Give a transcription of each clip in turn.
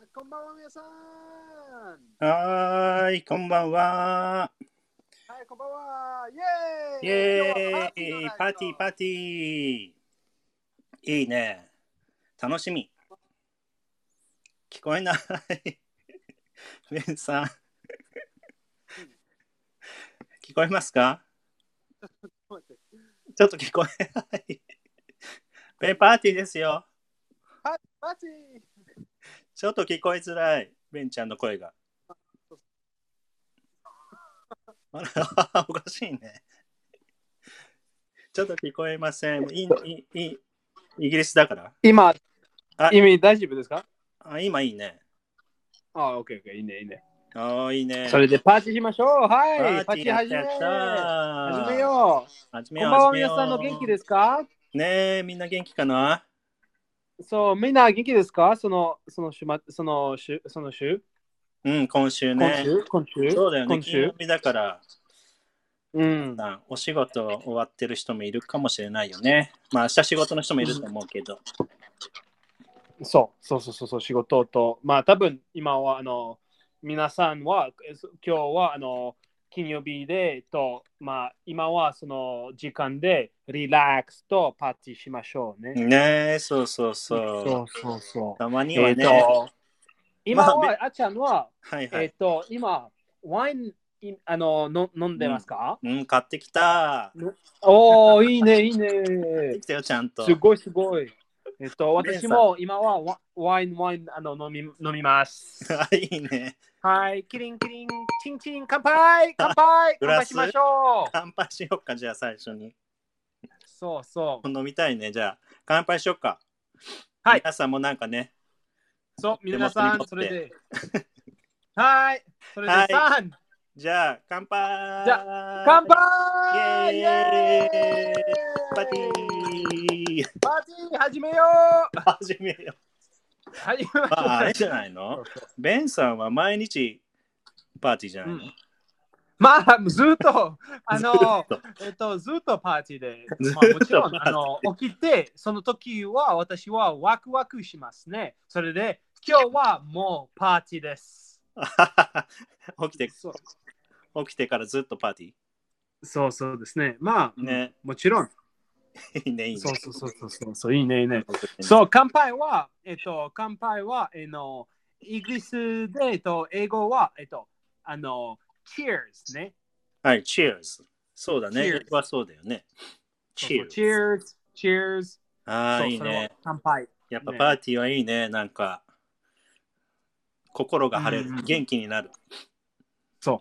こんばんは皆さん。 はーい、こんばんは。 はい、こんばんは。イイエーイ。今日はエパーティーのーイ、 ナイト。 パーティー、パーティー。いいね。楽しみ。聞こえない。ベンさん、聞こえますか？ちょっと聞こえない。ベン、パーティーですよ。 パーティー。 ちょっと聞こえづらい。ベンちゃんの声が。あら、おかしいね。ちょっと聞こえません。イギリスだから。 今、 あ、 大丈夫ですか？ 今いいね。 オッケー、いいね、いいね。 いいね。 それでパーティーしましょう。はパい、パーーティーやっティー始め。 たやった始めー。 よう。 始めよう、 こんばんは、 始め皆さんの元気でよすか？ う。ねえ、みんな元気かな？ そう、みんな元気ですか？その週うん、今週今ね。 週今週そうだよね、 今週金曜日だから、皆うん。 さん、お仕事終わってる人もいるかもしれないよね。まあ、明日仕事の人もいると思うけど。 そう、仕事と、まあ多分今は皆さんは今日は金曜日でまあ今はその時間でリラックスとパーティーしましょうね。 ねえ、そうそうそう。 そう。 たまにはね。まあ、 今はあちゃんははいはい。 今ワイン飲んでますか？ うん、買ってきた。 おー、いいね、いいね。 買ってきたよ、ちゃんと。 すごいすごい。私ベンさん。 も今はワイン飲みます。 いいね。 はい、キリンキリン、チンチン、乾杯乾杯グラス乾杯しましょう。 乾杯しよっか、じゃあ最初に。 そう。 飲みたいね。じゃあ、乾杯しよっか。 はい、 皆さんもなんかね、 そう、 手元に皆さん、 持って。 それで。はい、それではい。 3。 じゃあ、乾じゃあ、乾杯。イ杯イエエーイパーティーーイパーティー始めよう。 始めよう。 始めましょう。 あれじゃないの？ベンさんは毎日パーティーじゃないの？ まあ、ずっと、 ずっと。 ずっとパーティーで、 ずまあ、もちろん、 っとパーティー。 起きて、その時は私はワクワクしますね。それで、今日はもうパーティーです。 起きてからずっとパーティそうですね。まあ、 ー。ね。 もちろん。 いいね、いいね。 そう、いいね。そう、乾杯は、イギリスで、英語は、cheers ね。 はい、Cheers。そうだね。英 cheers。 語はそうだよね。 cheers。 ああ、 そう、それはいいね。 乾杯。 やっぱパね。 ーティーはいいね。なんか、心が晴れる。 うん、 元気になる。 そう、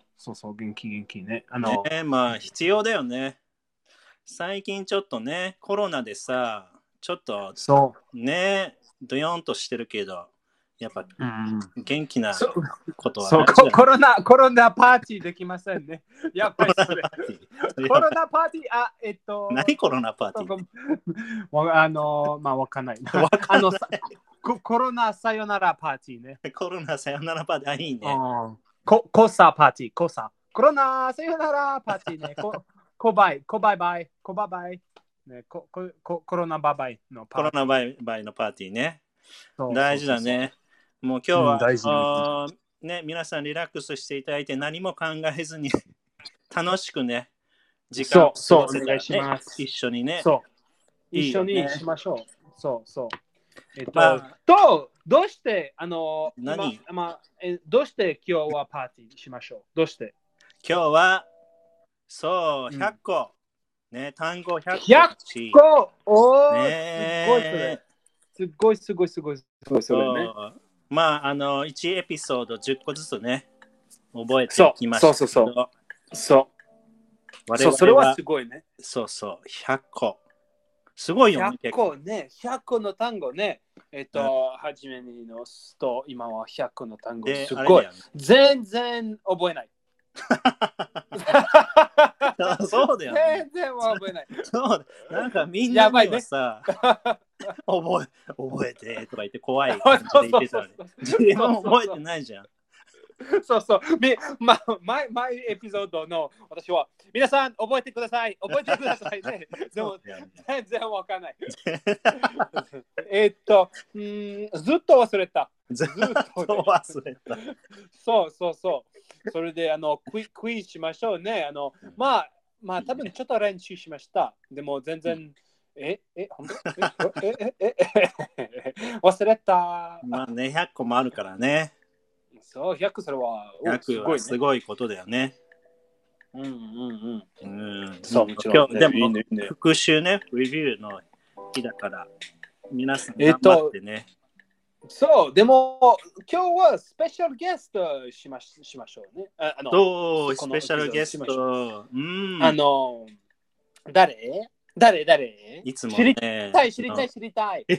元気ね。 ねえ、まあ、必要だよね。最近ちょっとね、コロナでさ、ちょっとそね、ドヨンとしてるけど、やっぱう。 元気なことはそう、 大事だね。 コロナパーティーできませんね。やっぱりそれ。 コロナパーティー。 コロナパーティー、 何コロナパーティーって。 まあ、わかんない。 わかんないコロナさよならパーティーね。 コロナさよならパーティー。あ、いいね。 コサパーティー、コサ。コロナさよならパーティーね。コバイバイ。ね、コロナバイバイのパーティー。 コロナバイのパーティーね。 そう大事だね。もう今日は、 大事ね、皆さんリラックスしていただいて何も考えずに楽しくね、時間を過ごせたらね、一緒にね。 一緒にしましょう。そう。 まあ、 どうして、 何どうして今日はパーティーしましょう？どうして今日は、そう、100個。ね、単語100個。 100個ね、 すごいそれね。 まあ、1エピソード10個ずつね、覚えていきましたけど。 そう、それはすごいね。 そう、100個。すごいよね。 100個ね、100個の単語ね。初めにのすと、今は100個の単語。すごい。全然覚えない。 そうだよね。 全然覚えない。 そうなんかみんなにはさ、覚えてとか言って怖い感じで言ってたのに。自分も覚えてないじゃん。 そう。毎エピソードの私は、皆さん覚えてくださいね。でも、全然わかんない。ずっと忘れた。 ずっずっとと忘れた。 そうそうそう。それでクイズしましょうね。まあ多分ちょっと練習しました。でも全然、本当忘れた。 まあね、100個もあるからね。 そう、100それは、す 100 ごいね。 はすごいことだよね。 うんうんうん。 うん。 そう、もちろん、ね。 今日、でも、 いいね、いいね。 復習ね、レビューの日だから、皆さん頑張ってね。 そう、でも今日はスペシャルゲストしましょうね。 そう、スこのペシャルゲスエピソードしましょう。 ト。うん。 誰いつも知りね。 たい。知りたい。知りたい。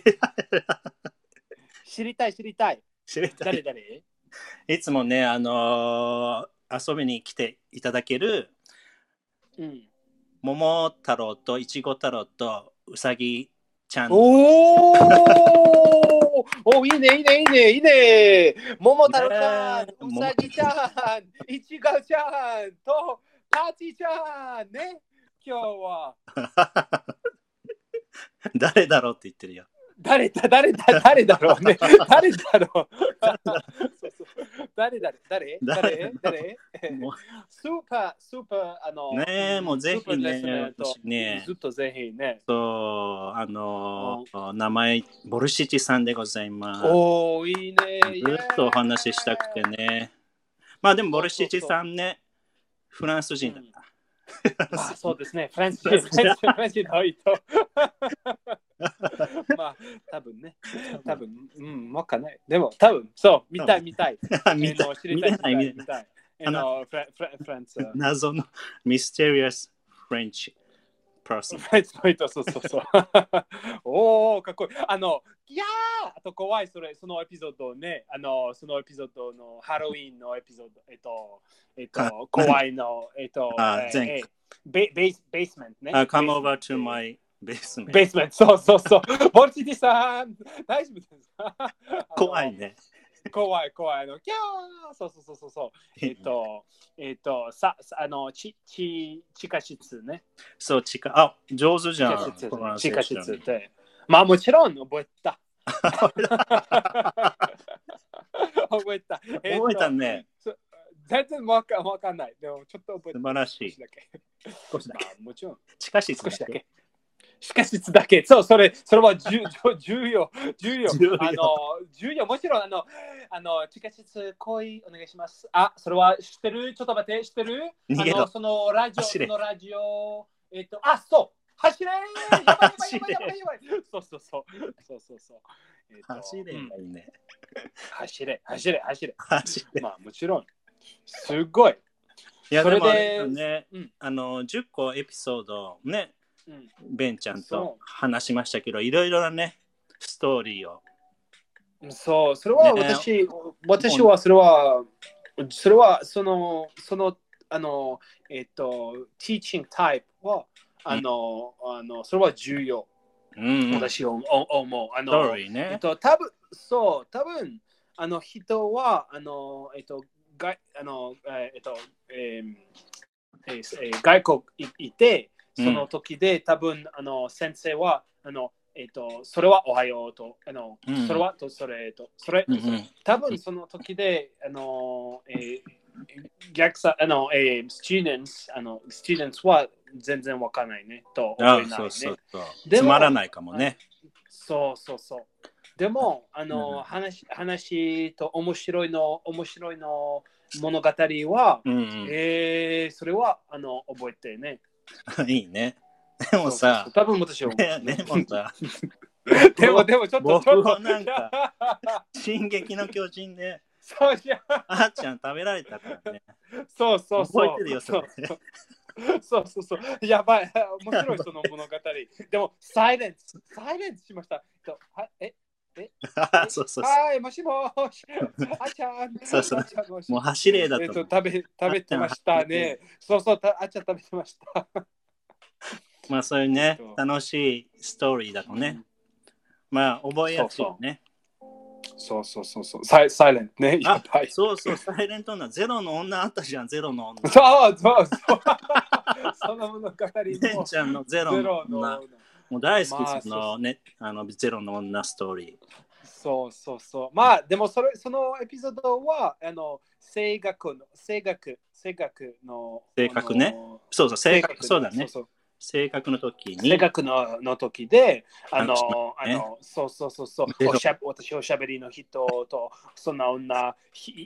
知りたい。 誰いつもね、遊びに来ていただける、 うん。 桃太郎といちご太郎とうさぎちゃん。 いいね、いいね、いいね、いいね。桃太郎ちゃん、 ねうさぎちゃん、いちごちゃんとパチちゃんね。今日は。 誰だろうって言ってるよ。 誰だろうね。誰だろう。そうそう誰スーパー、 ねえ、もうぜひね、 ずっとぜひね。 そう、名前、ボルシチさんでございます。 いいね。 ずっとお話ししたくてね。まあでも、ボルシチさんね、フランス人だった。 そうですね。フランス人の人。まあ、多分ね。わかんない。でも、多分、そう、見たい。 見れない。 フランス。 謎のミステリアスフレンチパーソン。 フランスの人、そう。かっこいい。いやーあと怖い、そのエピソードね。そのエピソードのハロウィンのエピソード、怖いの、ベースメントね。 Come over to my basement. ベースメント、そう。ボルチティさん、大丈夫ですか？ 怖いね。 怖い。キャーそう。地下室ね。 そう、上手じゃん。 地下室って。まあもちろん覚えた。覚えたね。 全然わかんない。でもちょっと覚えた。 素晴らしい。 少しだけ。もちろん。 地下室少しだけ。地下室だけ。そう、それは重要。もちろん、地下室来い、お願いします。それは知ってる？ちょっと待って、知ってる？そのラジオ、そう。走れやばい。そう。 走ればいいね。 走れ。まあ、もちろん。すごい。 いや、でもね、10個エピソードね、ベンちゃんと話しましたけど、いろいろなね、ストーリーを。 そう、それは私はそれはそのteaching type はそれは重要。私は思う。 ストーリーね。 多分人は外国いて、その時で多分先生はそれはおはようと、それはとそれと、多分その時で逆さスチューデンツは全然わからないねと思えないね。 つまらないかもね。 そう。でも話と面白いの物語は、それは覚えてね。 いいね。でもさ、 多分私はでもさ、 でもちょっと僕はなんか進撃の巨人であっちゃん食べられたからね。 そう覚えてるよ、それ。 そう。やばい。面白いその物語。でも、サイレンスしました。はい、もしもし。あちゃん。 もう走れだと。 食べてましたね。そう、あちゃん食べてました。 まあ、そういうね、楽しいストーリーだとね。まあ、覚えやすいね。 そう。サイレントね。 そう、サイレントな。ゼロの女あったじゃん、ゼロの女。 そう。その物語も。 ベンちゃんのゼロの女。もう大好きですのね、ゼロの女ストーリー。 そうそうそう。まあ、でもそのエピソードは、声楽の、 性格ね。そうそう、性格、そうだね。性格の時に。 性格の時で、そう、私おしゃべりの人と、そんな女、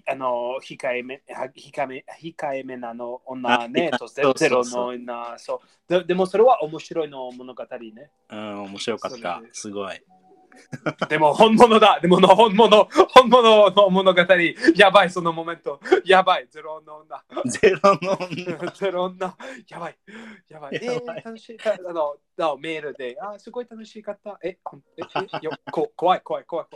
控えめなの女ね、とゼロの女、そうでもそれは面白いの物語ね。 うん、面白かった。すごい。 でも本物だ。でも本物の物語。やばい、そのモメント。やばい、ゼロの女。 ゼロの女。 ゼロ女。やばい。やばい。楽しい。メールで、すごい楽しかった。怖い。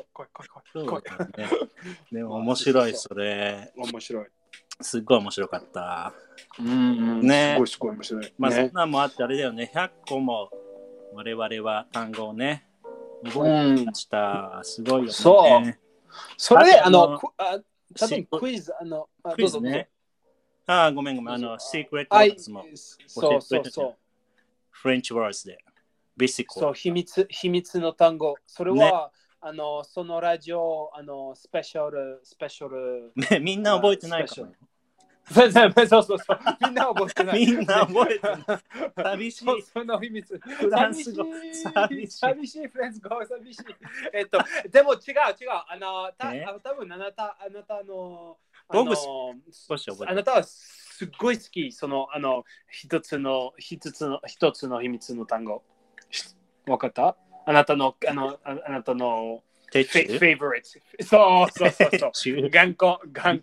でも面白い、それ。 面白い。 すごい面白かった。 ね。すごい面白い。 まあ、そんなんもあってあれだよね。100個も我々は単語をね。覚えてました。すごいよね。 そう。それで、多分クイズ、 クイズね。ごめん。secret words も。 そう。 French words で。 そう、秘密の単語。それは、そのラジオ、スペシャル。 みんな覚えてないかも。 そう。みんな覚えてない。 みんな覚えてない。寂しい。 その秘密。 フランス語。 寂しい。フランス語。寂しい。でも違う。多分あなたの、あなたはすっごい好き。その、一つの秘密の単語。わかった？あなたの、favorite。そう。頑固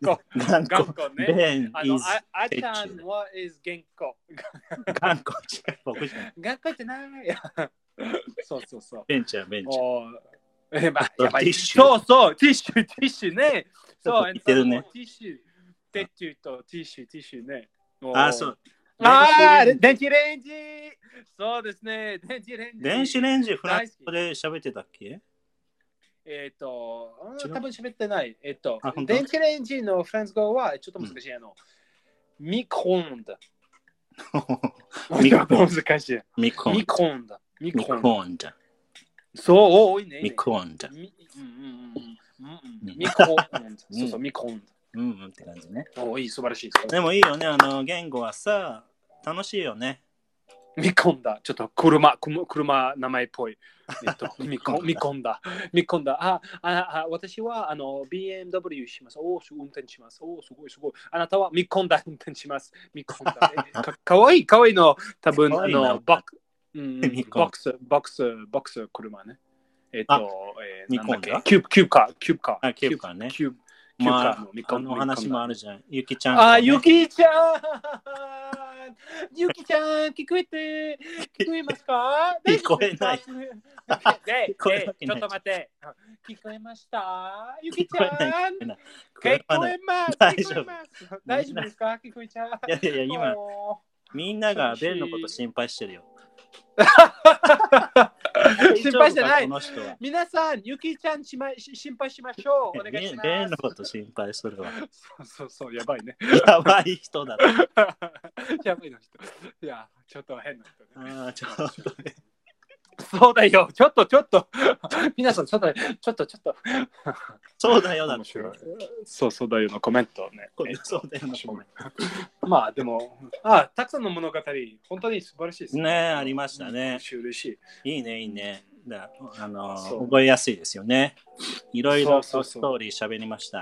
ね。あちゃんは is 頑固。 頑固ってない。そう。 ベンチ。 やばい。そう、ティッシュね。そう、 言ってるね。 ティッシュティッシュね。 そう。 電子レンジ。そうですね。 電子レンジフランス語で喋ってたっけ？ 多分喋ってない。電子レンジのフランス語はちょっと難しい。ミクロンダ。難しい。ミクロンダ。そう、多いね。 ミクロンダ。 ミクロンダ。そう、ミクロンダ。 って感じね。 いい、素晴らしい。 でもいいよね。言語はさ、楽しいよね。 見込んだ。ちょっと車名前っぽい。見込んだ。私はBMW します。運転します。すごい。あなたは見込んだ運転します。見込んだ。かわいいの。多分ボックス車ね。 見込んだ？ キューカー。 キューカーね。話もあるじゃん。ゆきちゃん。 ゆきちゃん、聞こえますか？ 聞こえない。 ちょっと待って。聞こえました？ゆきちゃん。聞こえます。大丈夫ですか？聞こえちゃう。 いや、今、みんながベンのこと心配してるよ。 心配してない。皆さん、ゆきちゃん心配しましょう。お願いします。 ベンのこと心配するわ。 そう、やばいね。 やばい人だ。 やばいの人。いや、ちょっと変な人ね。 ちょっとね。 そうだよ。ちょっと。皆さん、ちょっと。 そうだよだ。 そうだよのコメントね。 そうだよのコメント。まあ、でも、たくさんの物語、本当に素晴らしいですね。ありましたね。 嬉しい。 いいね。覚えやすいですよね。いろいろストーリー喋りました。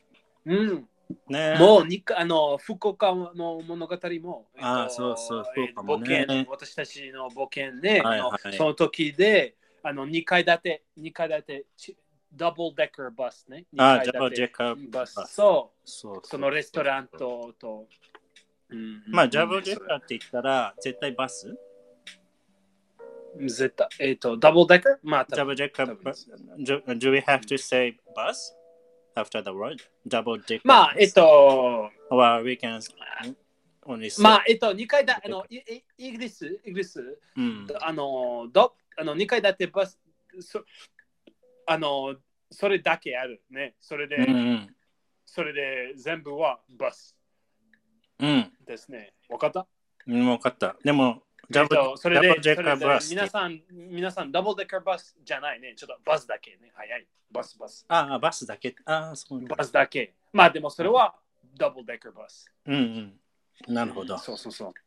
もう福岡の物語も、 そう、福岡もね。 私たちの冒険ね、その時で、2階建て、ダブルデッカーバスね。 ダブルデッカーバス。 そのレストランと。 まあ、ダブルデッカーって言ったら、絶対バス？ 絶対、ダブルデッカー？まあ、 ダブルデッカーバス。Do we have to say bus after the word? Double decker? まあ、 Or we can only say. まあ、2階建て、イギリス、2階建てバス、それだけあるね。それで全部はバス。ですね。わかった？ わかった。でも、 それで、 ダブルデッカーバス皆さん、ダブルデッカーバスじゃないね。ちょっとバスだけね。早い。バス。 ああ、バスだけ。ああ、そうなんだ。 バスだけ。まあでもそれはダブルデッカーバス。 うんうん。なるほど。 そう。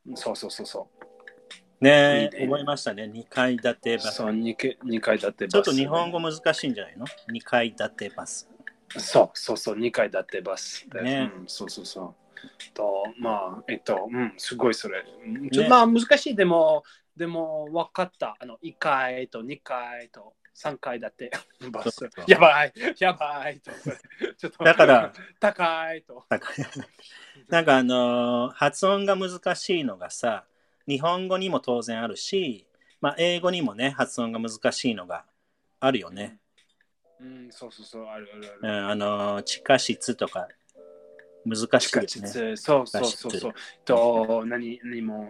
ねいいね覚えましたね。2階建てバス。 そう、2階建てバス。 ちょっと日本語難しいんじゃないの ?2 階建てバス。 そう、2階建てバス。 ねそう。と、まあ、すごいそれ。まあ難しい。でも分かった。1階と2階と3階建てバス。 そうやばいと。ちょっとだから高いと。 なんか発音が難しいのがさ、日本語にも当然あるし、まあ、英語にもね、発音が難しいのがあるよね。 そう、ある。 地下室とか難しいよね。 地下室、そう。何も、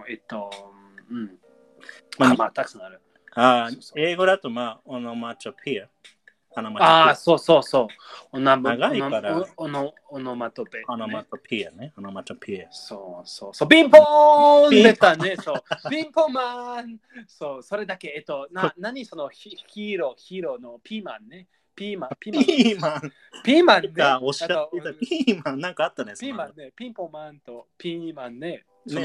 まあ、たくさんある。 英語だと、まあ、オノマトペア。 そう。 長いからオノマトペ。 オノマトペアね。オノマトペア。 そう。ピンポーン出たね。そう。ピンポンマン。そう、それだけ。何そのヒーローのピーマンね。ピーマンね。 おっしゃってたピーマンなんかあったね。 ピーマンね。ピンポンマンとピーマンね。 ピ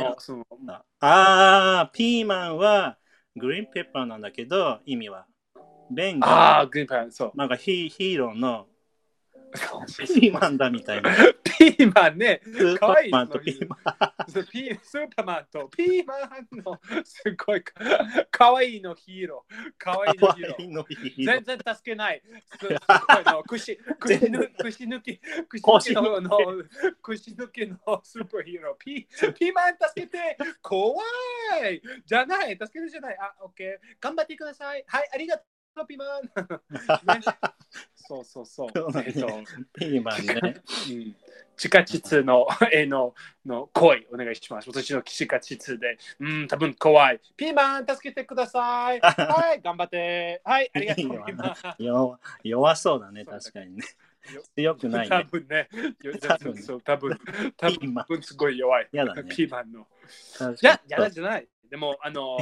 ーマンはグリーンペッパーなんだけど、意味は。ベンが、 グリーンペッパー、そう。 なんかヒーローのピーマンだみたいな。 ピーマンね。かわいい。 スーパーマンとピーマン。 スーパーマンとピーマンのすごいかわいいのヒーロー。かわいいのヒーロー。全然助けない。串抜きのスーパーヒーロー。ピーマン助けて。怖い。じゃない。助けてじゃない。オッケー。頑張ってください。はい、ありがとう。ピーマン。そう。 ピーマンね。 地下室の声お願いします。私の地下室で、多分怖い。ピーマン助けてください。はい、頑張って。はい、ありがとう。 弱そうだね、確かにね。強くないね。 多分ね。多分すごい弱い。 やだね。 ピーマンの。やだじゃない。でも、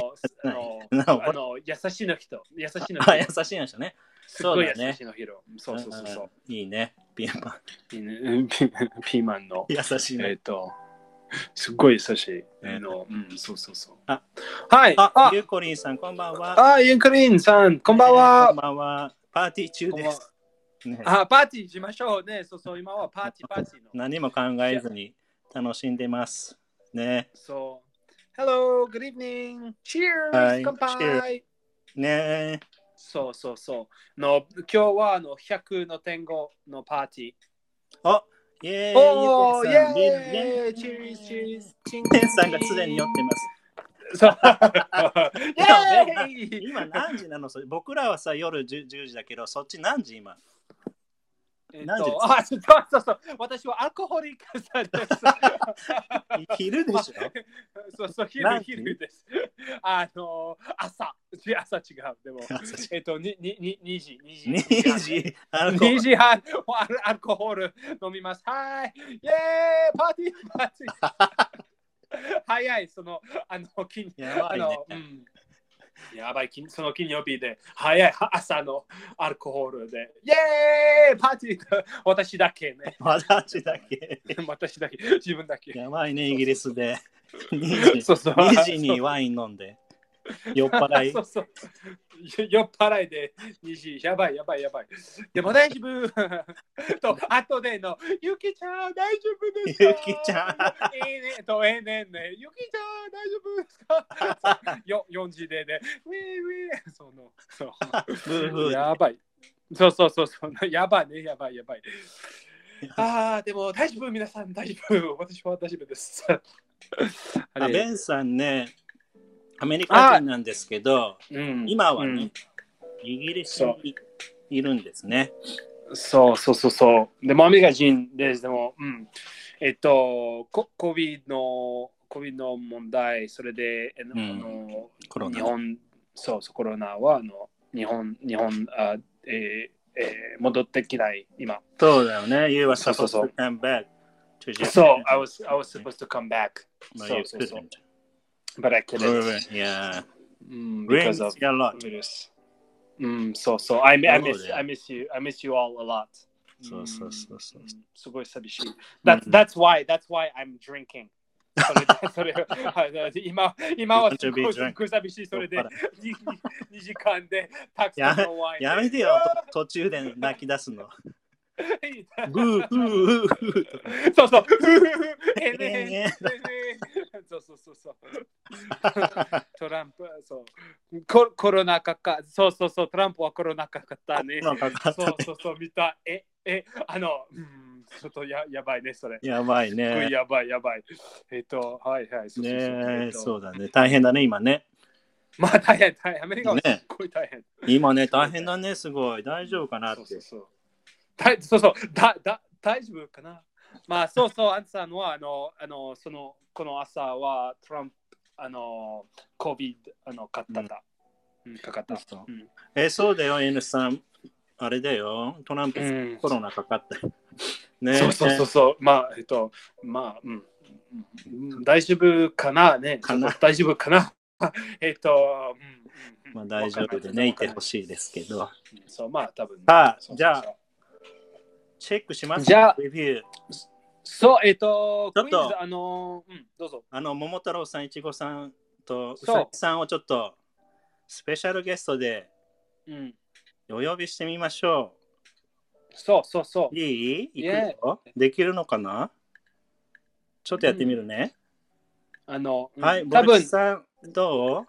優しいの人。優しいの人ね。すごい優しいの人。そう。 いいね、ピーマン。 ピーマンの。 優しいね。 すごい優しい。そう。 はい。ゆうこりんさん、こんばんは。 ゆうこりんさん、こんばんは。 こんばんは。パーティー中です。 パーティーしましょうね。そう、今はパーティーの。 何も考えずに楽しんでます。ね。 そう。Hello, good evening. Cheers! 乾杯ね。 そう。今日は100の天狗のパーティー。 イェーイ！ イェーイ！チーズ！ ペンさんがすでに酔ってます。 そう。 今何時なの？僕らはさ、夜10時だけど、そっち何時今？ そう。私はアルコホリックさんです。 昼でしょそう、昼です。朝違う。でも、2時半、アルコホール飲みます。はい。イェーイパーティー早い、やばい、その金曜日で、早い朝のアルコホールで、イェーイパーティー私だけね。 私だけ。 自分だけ。 やばいね、イギリスで。2時にワイン飲んで。酔っ払い。 そう。酔っ払いで2時。やばい。でも大丈夫。あとでの、ゆきちゃん大丈夫ですか？ ゆきちゃん。 ね。ゆきちゃん大丈夫ですか？4時でね。ウィー。やばい。そう。やばい。でも大丈夫、皆さん大丈夫。私は大丈夫です。 ベンさんね、アメリカ人なんですけど、今はね、イギリスにいるんですね。 そう。でもアメリカ人です。でも、COVID の問題、それで、 コロナは日本戻ってきない今。 そうだよね。You were supposed to come back to Japan. So I was supposed to come back. そう。 but I couldn't. Yeah. Because Rings of a lot. virus. So I miss you. I miss you all a lot. そう。 すごい寂しい。 うん That's why I'm drinking. それ今はすごい寂しい。それで2時間でたくさんのワイン。 やめてよ、途中で泣き出すの。ブーフーそう。そう。トランプ、そう。コロナ禍か。そう。トランプはコロナ禍かったね。そう、見た。ちょっとやばいね、それ。 やばいね。 やばい。はい。 そうだね。大変だね、今ね。 まあ大変。アメリカはすっごい大変。 今ね、大変だね、すごい。大丈夫かなって。 大丈夫かな。まあそう、アンさんはこの朝はトランプCOVID かかった。 そうだよ、N さん。あれだよ、トランプコロナかかった。ね。 そう。大丈夫かなね。大丈夫かな。 まあ大丈夫でね、いてほしいですけど。 そう、まあ多分。 じゃあ、チェックします。 じゃあ、 レビュー。 そう、 ちょっと、 どうぞ。 桃太郎さん、いちごさんとうさぎさんをちょっとスペシャルゲストでお呼びしてみましょう。そう。 いい？できるのかな？ちょっとやってみるね。はい、ボルチさん、どう？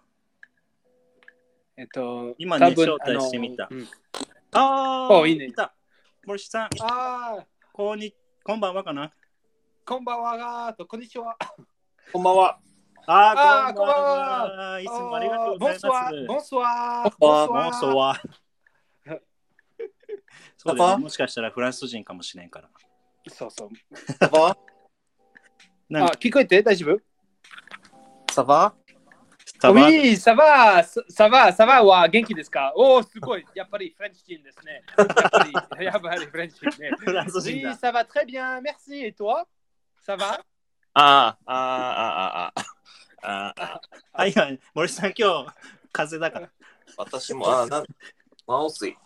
今ね、招待してみた。いいね。ボルチさん、こんばんはかな？ こんばんはこんにちは。 こんばんは。 こんばんは。いつもありがとうございます。 ボンソワ。 そうですね。もしかしたらフランス人かもしれんから。 そう。 聞こえて大丈夫？サバ？ Oui, ça va は元気ですか？すごい。やっぱりフレンチ人ですね。やっぱりフレンチ人ね。 フランス人だ。 Oui, ça va très bien, merci. Et toi? Ça va? はい、森さん、今日、風邪だから。 私も、マウスイ。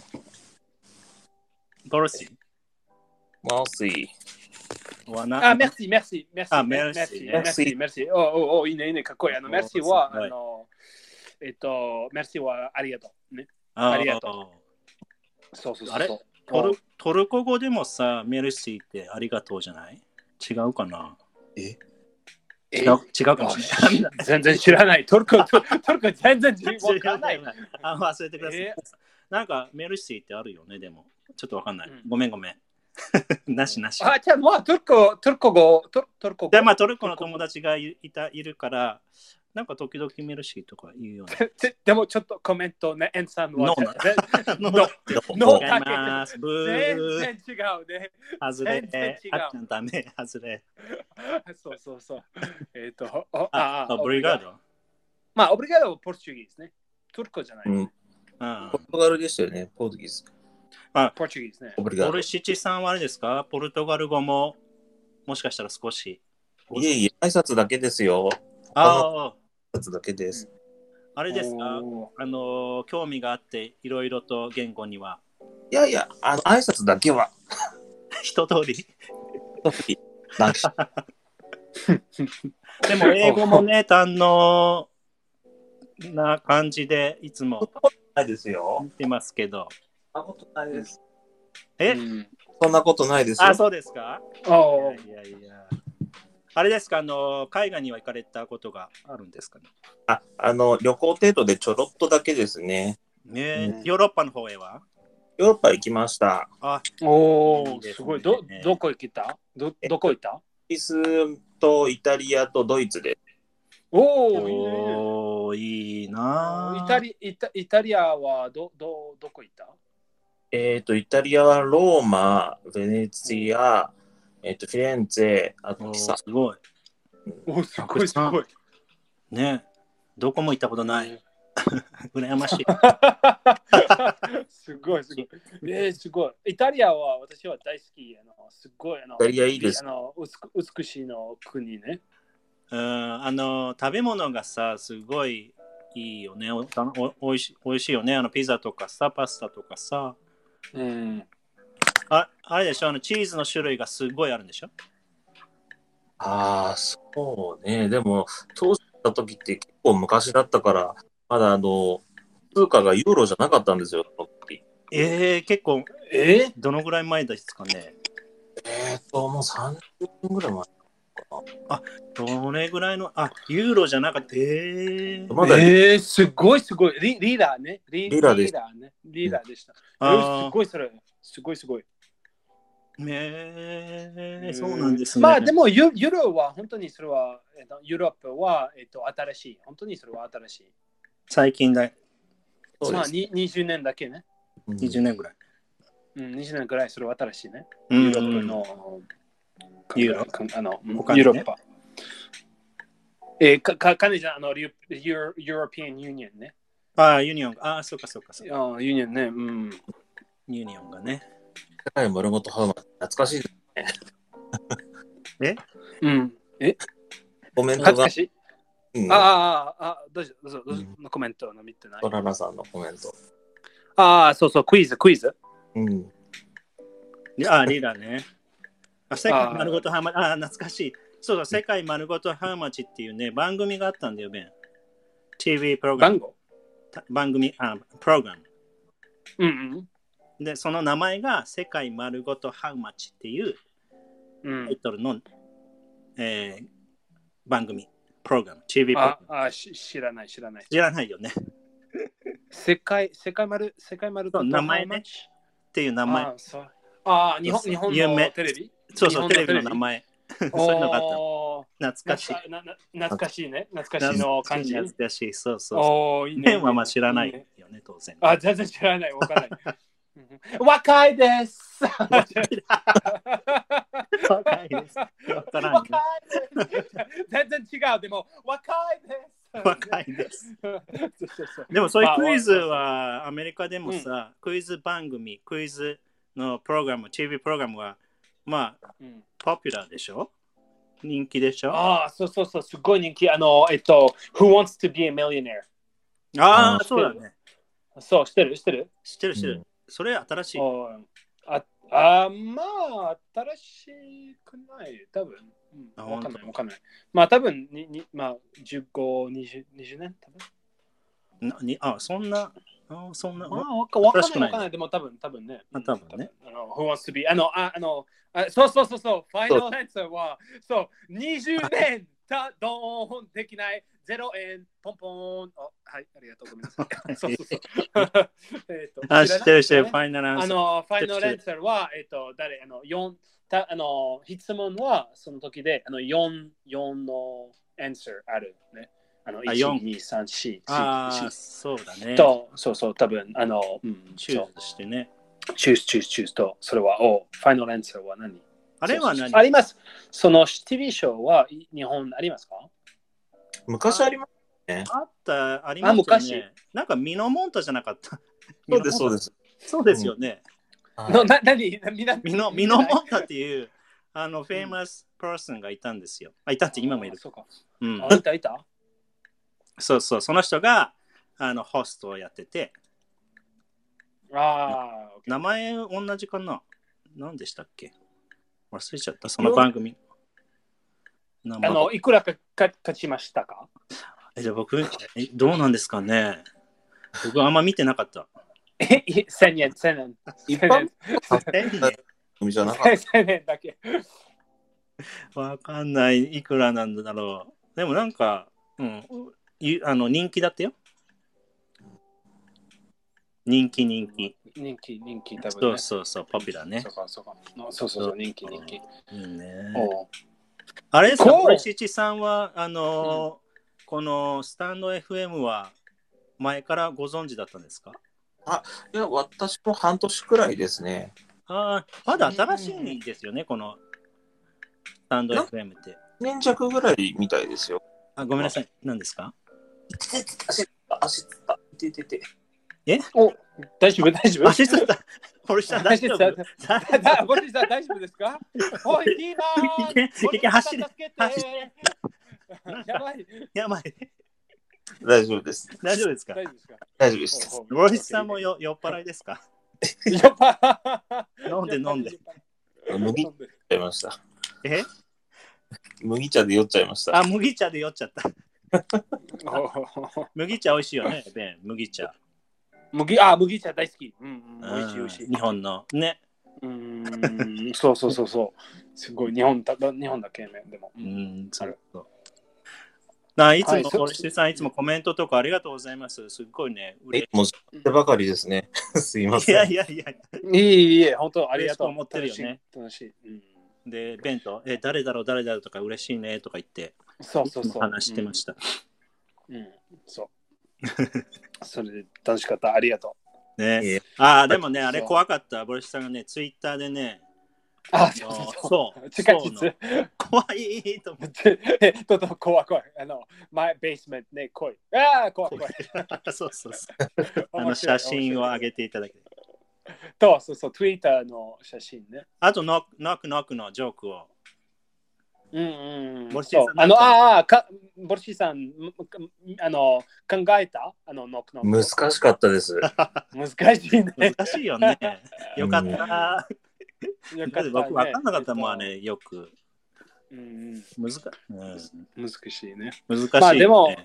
ボルシ。 マウスイ。 merci.いいね、かっこいい。merci は、merci はありがとう。ね。ありがとう。そう。 あれトルコ語でもさ、メルシーってありがとうじゃない？違うかな？違うかもしれない。 全然知らない。トルコ全然わかんない。 忘れてください。なんかメルシーってあるよね、でも。ちょっとわかんない。ごめん。なし。 じゃあもうトルコ語。 で、まあトルコの友達がいるから、なんか時々メルシーとか言うよね。 でもちょっとコメントね、エンさんは。 ノー全然違うね。 外れ。あっちゃんダメ、外れ。 そう。 オブリガード。 まあ、オブリガードはポルトガルですね。トルコじゃない。 ポルトガルでしたよね、ポルトギス。 ポルトガルですね。 ボルシチさんはあれですか？ポルトガル語ももしかしたら少し。 いえ、挨拶だけですよ。挨拶だけです。 あれですか？興味があっていろいろと言語には。 いや、挨拶だけは。 一通り。でも英語もね、堪能な感じでいつもないですよ。 見てますけど。 そんなことないです。 そんなことないですよ。 そうですか？いや。あれですか？海外には行かれたことがあるんですかね？ 旅行程度でちょろっとだけですね。 ヨーロッパの方へは？ ヨーロッパ行きました。 すごい。どこ行ったどこ行った？ イギリスとイタリアとドイツで。 いいな。 イタリアはどこ行った？ イタリアはローマ、ベネツィア、フィレンツェ、あとピサ。 すごい。 すごい。 ね、どこも行ったことない。羨ましい。 すごい。すごい。イタリアは私は大好き。すごい。 イタリアいいです。 美しいの国ね。 食べ物がさ、すごいいいよね。おいしいよね。ピザとかさ、パスタとかさ。 うん。 あれでしょ、チーズの種類がすごいあるんでしょ。 ああ、そうね。でも、当時行った時って結構昔だったから、まだ通貨がユーロじゃなかったんですよ、その時。 結構、どのぐらい前ですかね。 もう30分ぐらい前かな。 どれぐらいの、ユーロじゃなかった。 まだすごい。リーダーね。 リーダーです。 リーダーでした。 あすごいそれ。すごい。 そうなんですね。 まあでもユーロは本当にそれは、ユーロップは、新しい。本当にそれは新しい。 最近だ。 まあ20年だけね。 20年ぐらい。 20年ぐらいそれは新しいね。 ユユーロップのユーロユーロッパ。カネじゃん、ユーロピアンユニオンね。 ユニオン。そうか。 ユニオンね。 ユニオンがね。 世界丸ごとハウマッチ、懐かしいですね。コメントが。 懐かしい。どうぞ、コメントの見てない。 トララさんのコメント。 そう、クイズ。 リーダーね。世界丸ごとハウマッチ。懐かしい。そうだ、世界丸ごとハウマッチっていうね、番組があったんだよ、ベン。TV プログラム。番組、プログラム。で、その名前が世界丸ごとハウマッチっていうタイトルの、番組、プログラム、TV プログラム。 知らない。 知らないよね。 世界丸ごと名前ね。っていう名前。 日本のテレビ？ そう、テレビの名前。そういうのがあった。懐かしい。 懐かしいね。懐かしいの感じ。 懐かしい。そう。メンは知らないよね、当然。 全然知らない。わからない。若いです。 若いです。 全然違う。でも若いです。 でもそういうクイズはアメリカでもさ、クイズ番組、クイズのプログラム、TV プログラムはまあ、ポピュラーでしょ？人気でしょ？ そう、すごい人気。Who wants to be a millionaire？ そうだね。 そう、知ってる。 それ新しい。 まあ、新しくない。多分。わかんない。まあ、多分15、20年多分。 そんな。 わかんない。でも多分ね。 多分ね。 Who wants to be？そう。ファイナルアンサーは、20年ドーンできない。0円、ポンポン。はい、ありがとうごめんなさい。そう。 知ってる、ファイナルアンサー。 ファイナルアンサーは、質問はその時で、4のアンサーあるね。1、2、3、4。 そうだね。 そう、多分、 チューズしてね。 チューズと、それは、ファイナルアンサーは何？ あれは何？ あります。その TV ショーは日本ありますか？ 昔ありますね。 ありますね。 昔。 なんかミノモンタじゃなかった。 そうです。 そうですよね。 ミノモンタっていうフェイマスパーソンがいたんですよ。いたって今もいる。 そうか。いたそう、その人がホストをやってて。名前同じかな？何でしたっけ？忘れちゃった、その番組。 いくらか勝ちましたか？ じゃあ僕、どうなんですかね？僕あんま見てなかった。 1000円。 一般 1000円だけ。 わかんない。いくらなんだろう。でもなんか、人気だったよ。人気、 多分ね。 そう、ポピュラーね。 そう、人気。 いいね。あれですか、森七さんは、このスタンド FM は前からご存知だったんですか？ いや、私も半年くらいですね。 まだ新しいですよね、このスタンド FM って。 1年弱ぐらいみたいですよ。 ごめんなさい、何ですか？ 足つった。 大丈夫？ 足つった。堀さん大丈夫？ 堀さん大丈夫ですか？おい、キーマン！ 走れ。 やばい。 やばい。 大丈夫です。 大丈夫ですか？ 大丈夫ですか？ 大丈夫です。 ロイスさんも酔っ払いですか？ 酔っ払飲んで飲んで。 麦茶で酔っちゃいました。 え？ 麦茶で酔っちゃいました。 あ、麦茶で酔っちゃった。麦茶美味しいよね、ベン。麦茶。 麦茶大好き。美味しい美味しい。 日本のね。 そうそうそうそう。すごい日本だけね、でも。 そうそう。いつも、森下さん、いつもコメントとかありがとうございます。すっごいね。 もう手ばかりですね。すいません。 いや。 いい、本当ありがとう。 思ってるよね。 楽しい。 で、ベンと、誰だろうとか嬉しいねとか言って、 そう。 話してました。 そう。それで楽しかった。ありがとう。ね。でもね、あれ怖かった。森下さんがね、ツイッターでね、そう。 地下室。 怖いと思って。怖い。my basement ね、怖い。怖い。 そう。写真を上げていただけて。 そう、Twitter の写真ね。 あと、ノックのジョークを。 ボルシさん、考えたノック。 難しかったです。 難しいね。 難しいよね。よかった。僕分かんなかったもん、あれ、よく。難しいね。 難しい。まあでも、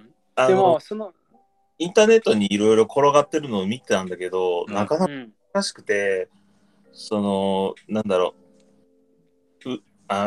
インターネットにいろいろ転がってるのを見てたんだけど、なかなか難しくて、なんだろう。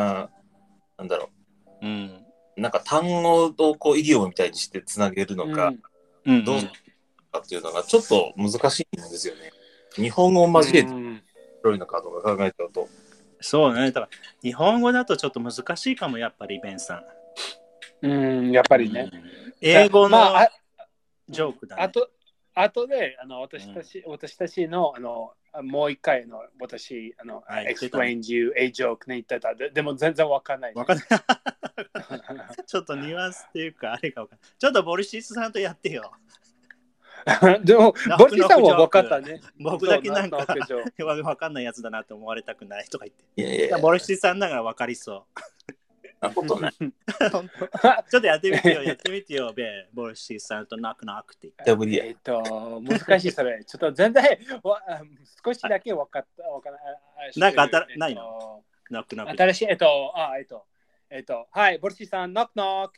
なんか単語をこうイディオムみたいにしてつなげるのか、どうかっていうのがちょっと難しいんですよね。日本語を交えて面白いのかとか考えちゃうと。 そうね。だから日本語だとちょっと難しいかも、やっぱりベンさん。やっぱりね。 英語のジョークだね。 あとで私たちのもう一回私explained you a joke ね言ってた。でも全然わかんない。 ちょっとニュアンスっていうかあれがわかんない。ちょっとボルシスさんとやってよ。 でもボルシスさんはわかったね。 僕だけなんかわかんないやつだなと思われたくないとか言って。いやボルシスさんながらわかりそう。 なことない。 ちょっとやってみてよ、ボルシスさんとナックって言って。 難しいそれ。ちょっと全然少しだけわかった。 なんかないの？ナック。 新しい、はい、ボルシスさん、ノック。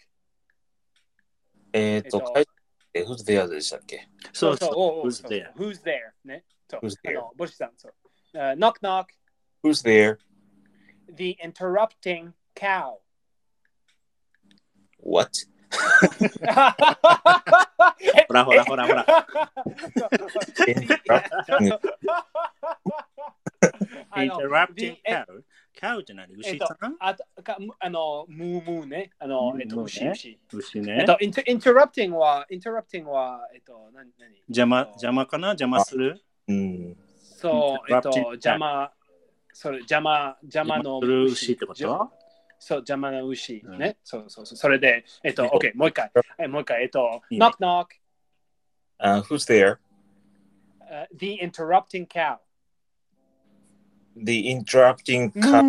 Who's there でしたっけ？ そう。 Who's there ね。ボルシスさん、knock. Who's there? The interrupting cow. What? ほら。Interrupting cow? カウって何？牛さん？ ムーね。 牛ね。 interrupting は、 邪魔かな？邪魔する？ そう、邪魔の牛ってこと？ そう、邪魔な牛ね。そう。それで、OK、もう一回、knock. Who's there? The interrupting cow. The interrupting cow.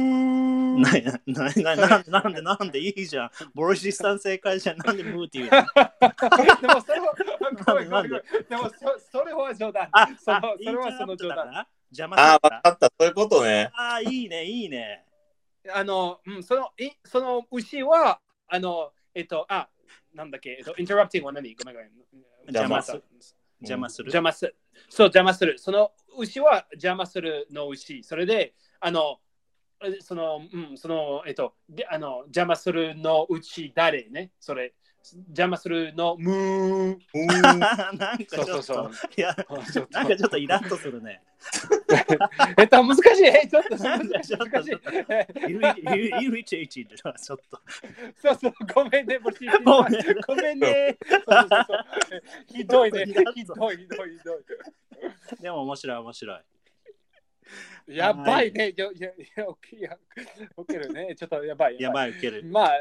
なんでいいじゃん。ボルシスさん正解じゃん。なんでムーって言うの？ でもそれは冗談。それはその冗談。 邪魔わかった。そういうことね。 いいね。 その牛は、なんだっけ、interrupting は何？ごめん。 邪魔する。 そう、邪魔する。その牛は邪魔するの牛。それで、邪魔するの牛誰ね。それ、邪魔するのムー。 なんかちょっと、いや、なんかちょっとイラッとするね。 難しい。ちょっと難しい。 イリテイティドだ、ちょっと。 そう、ごめんね、ごめんね。ひどいね。ひどい。 でも面白い。 やばいね。受けるね。ちょっとやばい。 受ける。 まあ、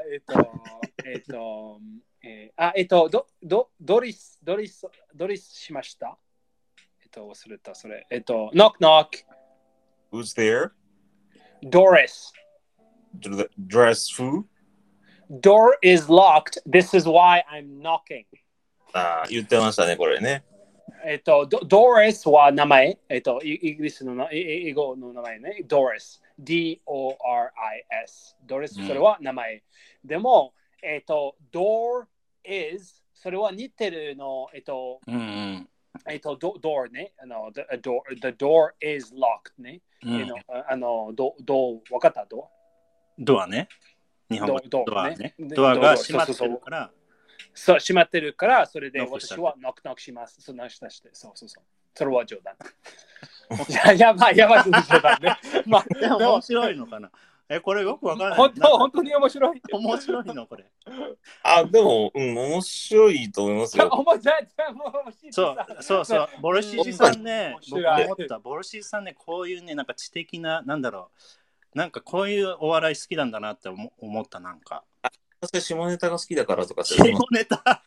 ドリスしました。忘れた、それ。knock. Who's there? Doris. Dress who? door is locked. This is why I'm knocking. 言ってましたね、これね。 Doris は名前。イギリスの英語の名前ね。Doris。D-O-R-I-S。Doris、それは名前。でも、door is、それは似てるの、door ね。the door is locked ね。わかったドアね。日本語ドアね。 ドアが閉まってるから。 そう、閉まってるから、それで私はノックノックします。そう。それは冗談。やばい冗談ね。 でも面白いのかな。これよくわからない。 本当に面白い。 面白いのこれ。 でも、面白いと思いますよ。 そう。ボルシーさんね、僕思った。ボルシーさんね、こういうね、なんか知的な、なんだろう。なんかこういうお笑い好きなんだなって思った、なんか。 確か下ネタが好きだからとか下ネタ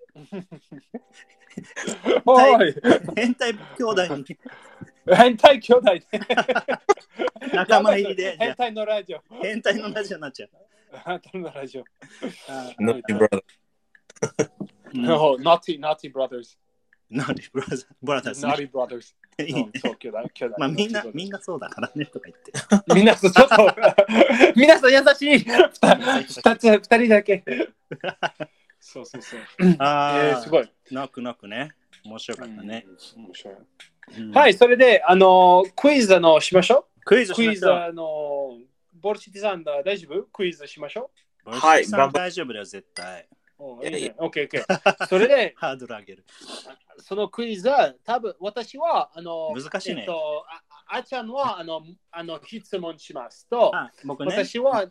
変態兄弟に変態兄弟で仲間入りで変態のラジオになっちゃう変態のラジオ Naughty Brothers No, Naughty Brothers Naughty Brothers Naughty Brothers そう兄弟まあみんなそうだからねとか言ってみんなちょっと皆さん優しい二人だけそうすごいノックね面白かったね面白いはい、それでクイズしましょうクイズボルシティさん大丈夫クイズしましょうはい、大丈夫だよ絶対オッケーそれでハードル上げるそのクイズは多分私は難しいねあちゃんは質問しますと僕ね私は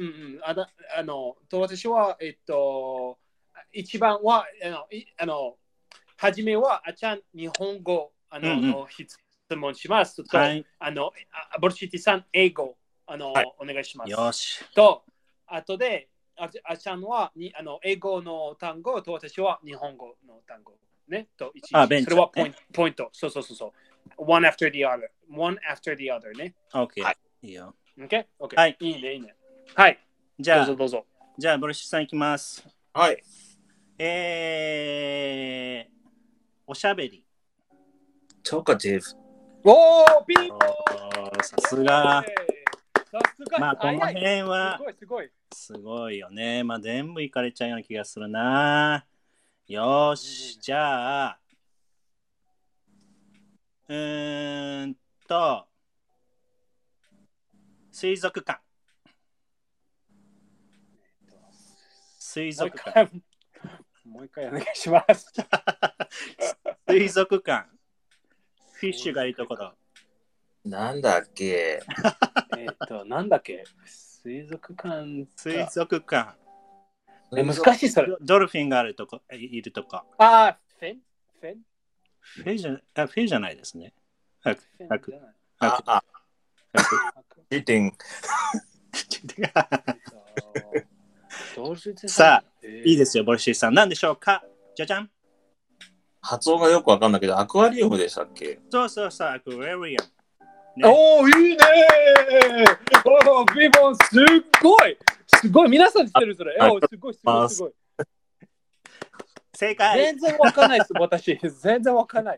私は一番は初めはあちゃん日本語質問しますとボルシティさん英語お願いしますよしと後であちゃんは英語の単語と私は日本語の単語ねとそれはポイントそうone after the other ね OK いいよ OK はいいいねはいじゃあどうぞじゃあボルシティさんいきますはいおしゃべり Talkative おーピンポーさすがまあこの辺はすごいよねまあ全部いかれちゃうような気がするなよしじゃあ水族館もう一回お願いします水族館フィッシュがいいところなんだっけなんだっけ水族館難しいそれドルフィンがいるとこフェじゃないですねさあいいですよボルシーさん何でしょうかじゃじゃん発音がよくわかんないけどアクアリウムでしたっけそうアクアリウムおーいいねおービボンすごい皆さん知ってるそれすごい正解全然わかんないです私全然わかんない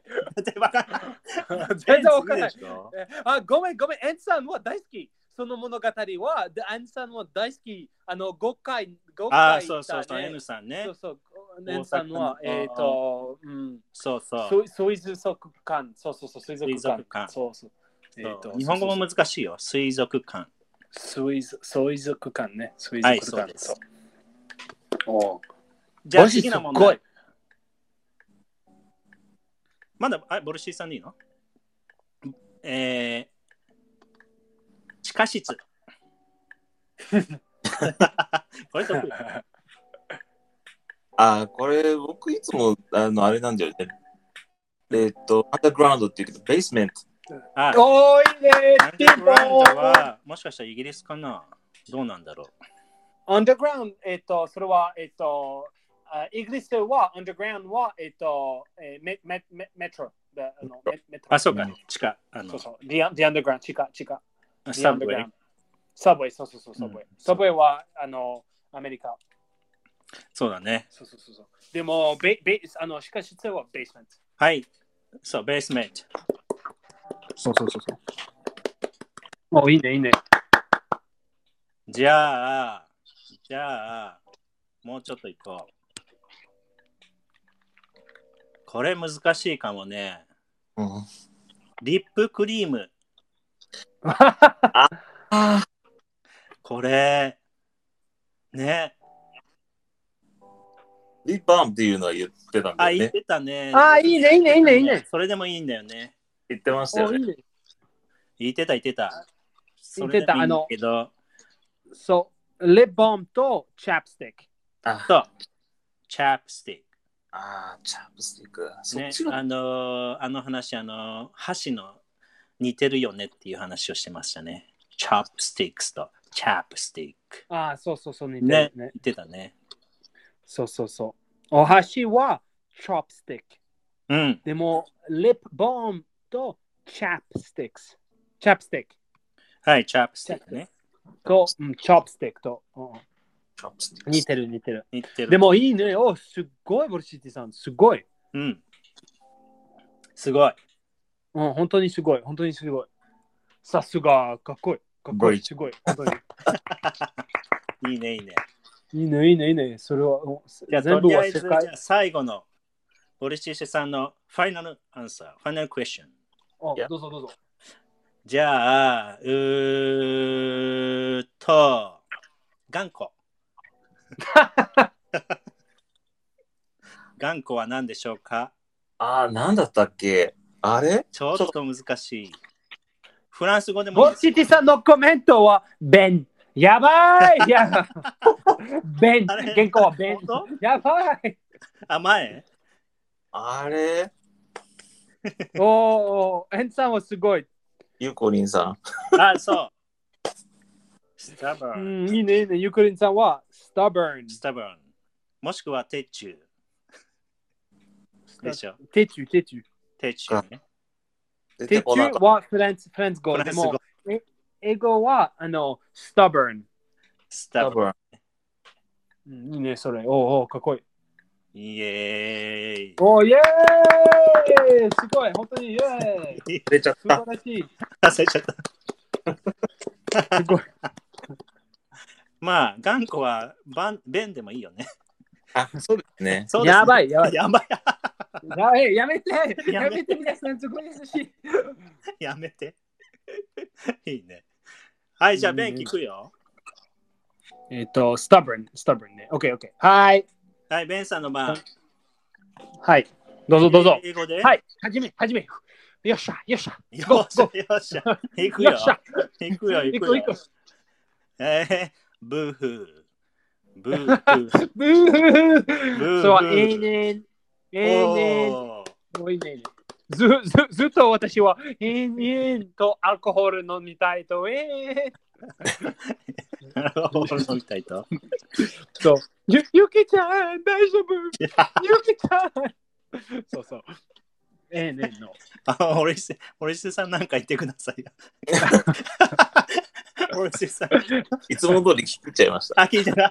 ごめんエンさんは大好きその物語はエンさんは大好き5回そうエンさんねエンさんは水族館水族館日本語も難しいよ水族館水族館ね水族館はいそうじゃあ次の問題まだボルシーさんでいいの地下室これ得意これ僕いつもあれなんだよねアンダーグラウンドって言うけどベースメントおーいいねアンダーグラウンドはもしかしたらイギリスかなどうなんだろうアンダーグラウンドそれはイギリスはアンダーグラウンドはメトロそうか地下 The Underground 地下サブウェイサブウェイはアメリカそうだね。 そう。でも、しかし、それはベースメント。 はい。そう、ベースメント。 そう。いいね。 じゃあ、もうちょっと行こう。これ難しいかもね。 うん、 リップクリーム。これ、ね。 リップバームっていうのは言ってたんだよ言っね。 てたね。 いいね。 それでもいいんだよね。 言ってましたよね。 言ってた。 言そってた。 れでもいいんだけど。 そう、リップバームとチャップスティック。 そう。チャップスティック。 チャップスティック。 ね、あの話、箸の似てるよねっていう話をしてましたね。チャップスティックスとチャップスティック。 そう、似てるね。言ってたね。 そう。お箸はチョップスティック。 うん。 でも、リップバームとチャップスティックス。チャップスティック。 はい、チャップスティックね。 と、チョップスティックと。似てる。でもいいね。すっごい、ボルシティさん。すごい。 うん。すごい。 本当にすごい。さすが、かっこいい。すごい。本当に。 いいね。 いいね。それは、 じゃあ、とりあえず、最後の、ボルシティさんのファイナルアンサー、ファイナルクエスチョン。 どうぞ。 じゃあ、頑固。頑固は何でしょうか？ 何だったっけ？あれ？ ちょっと難しい。フランス語でもボルシティさんのコメントは、ベン。やばいベン。原稿はベン。やばい。 前？ あれ？ エンさんはすごい。 ゆうこりんさん。 そう。 いいね。ゆうこりんさんは、stubborn。 もしくは、鉄柱。でしょ。 鉄柱ね。鉄柱はフランス語。でも、英語は、stubborn。いいね、それ。かっこいい。 イエーイ。 イエーイすごい、本当にイエーイ出ちゃった。 素晴らしい。 忘れちゃった。 すごい。 まあ、頑固は弁でもいいよね。 そうですね。 やばい。 やめて、皆さん、すごい優しい。 やめて。いいね。はい、じゃあ、弁聞くよ。 stubborn ね。OK。はい。 はい、ベンさんの番。 はい。どうぞ。 英語で？ はい。はじめ。よっしゃ。 行くよ。ブーフー。 そう、永遠。ずっと私は延々とアルコール飲みたいと。 アルコール飲みたいと。 そう。ゆきちゃん、大丈夫。ゆきちゃん。そう。の。 森下さんなんか言ってくださいよ。森下さん。 いつもの通り聞いちゃいました。 聞いてた。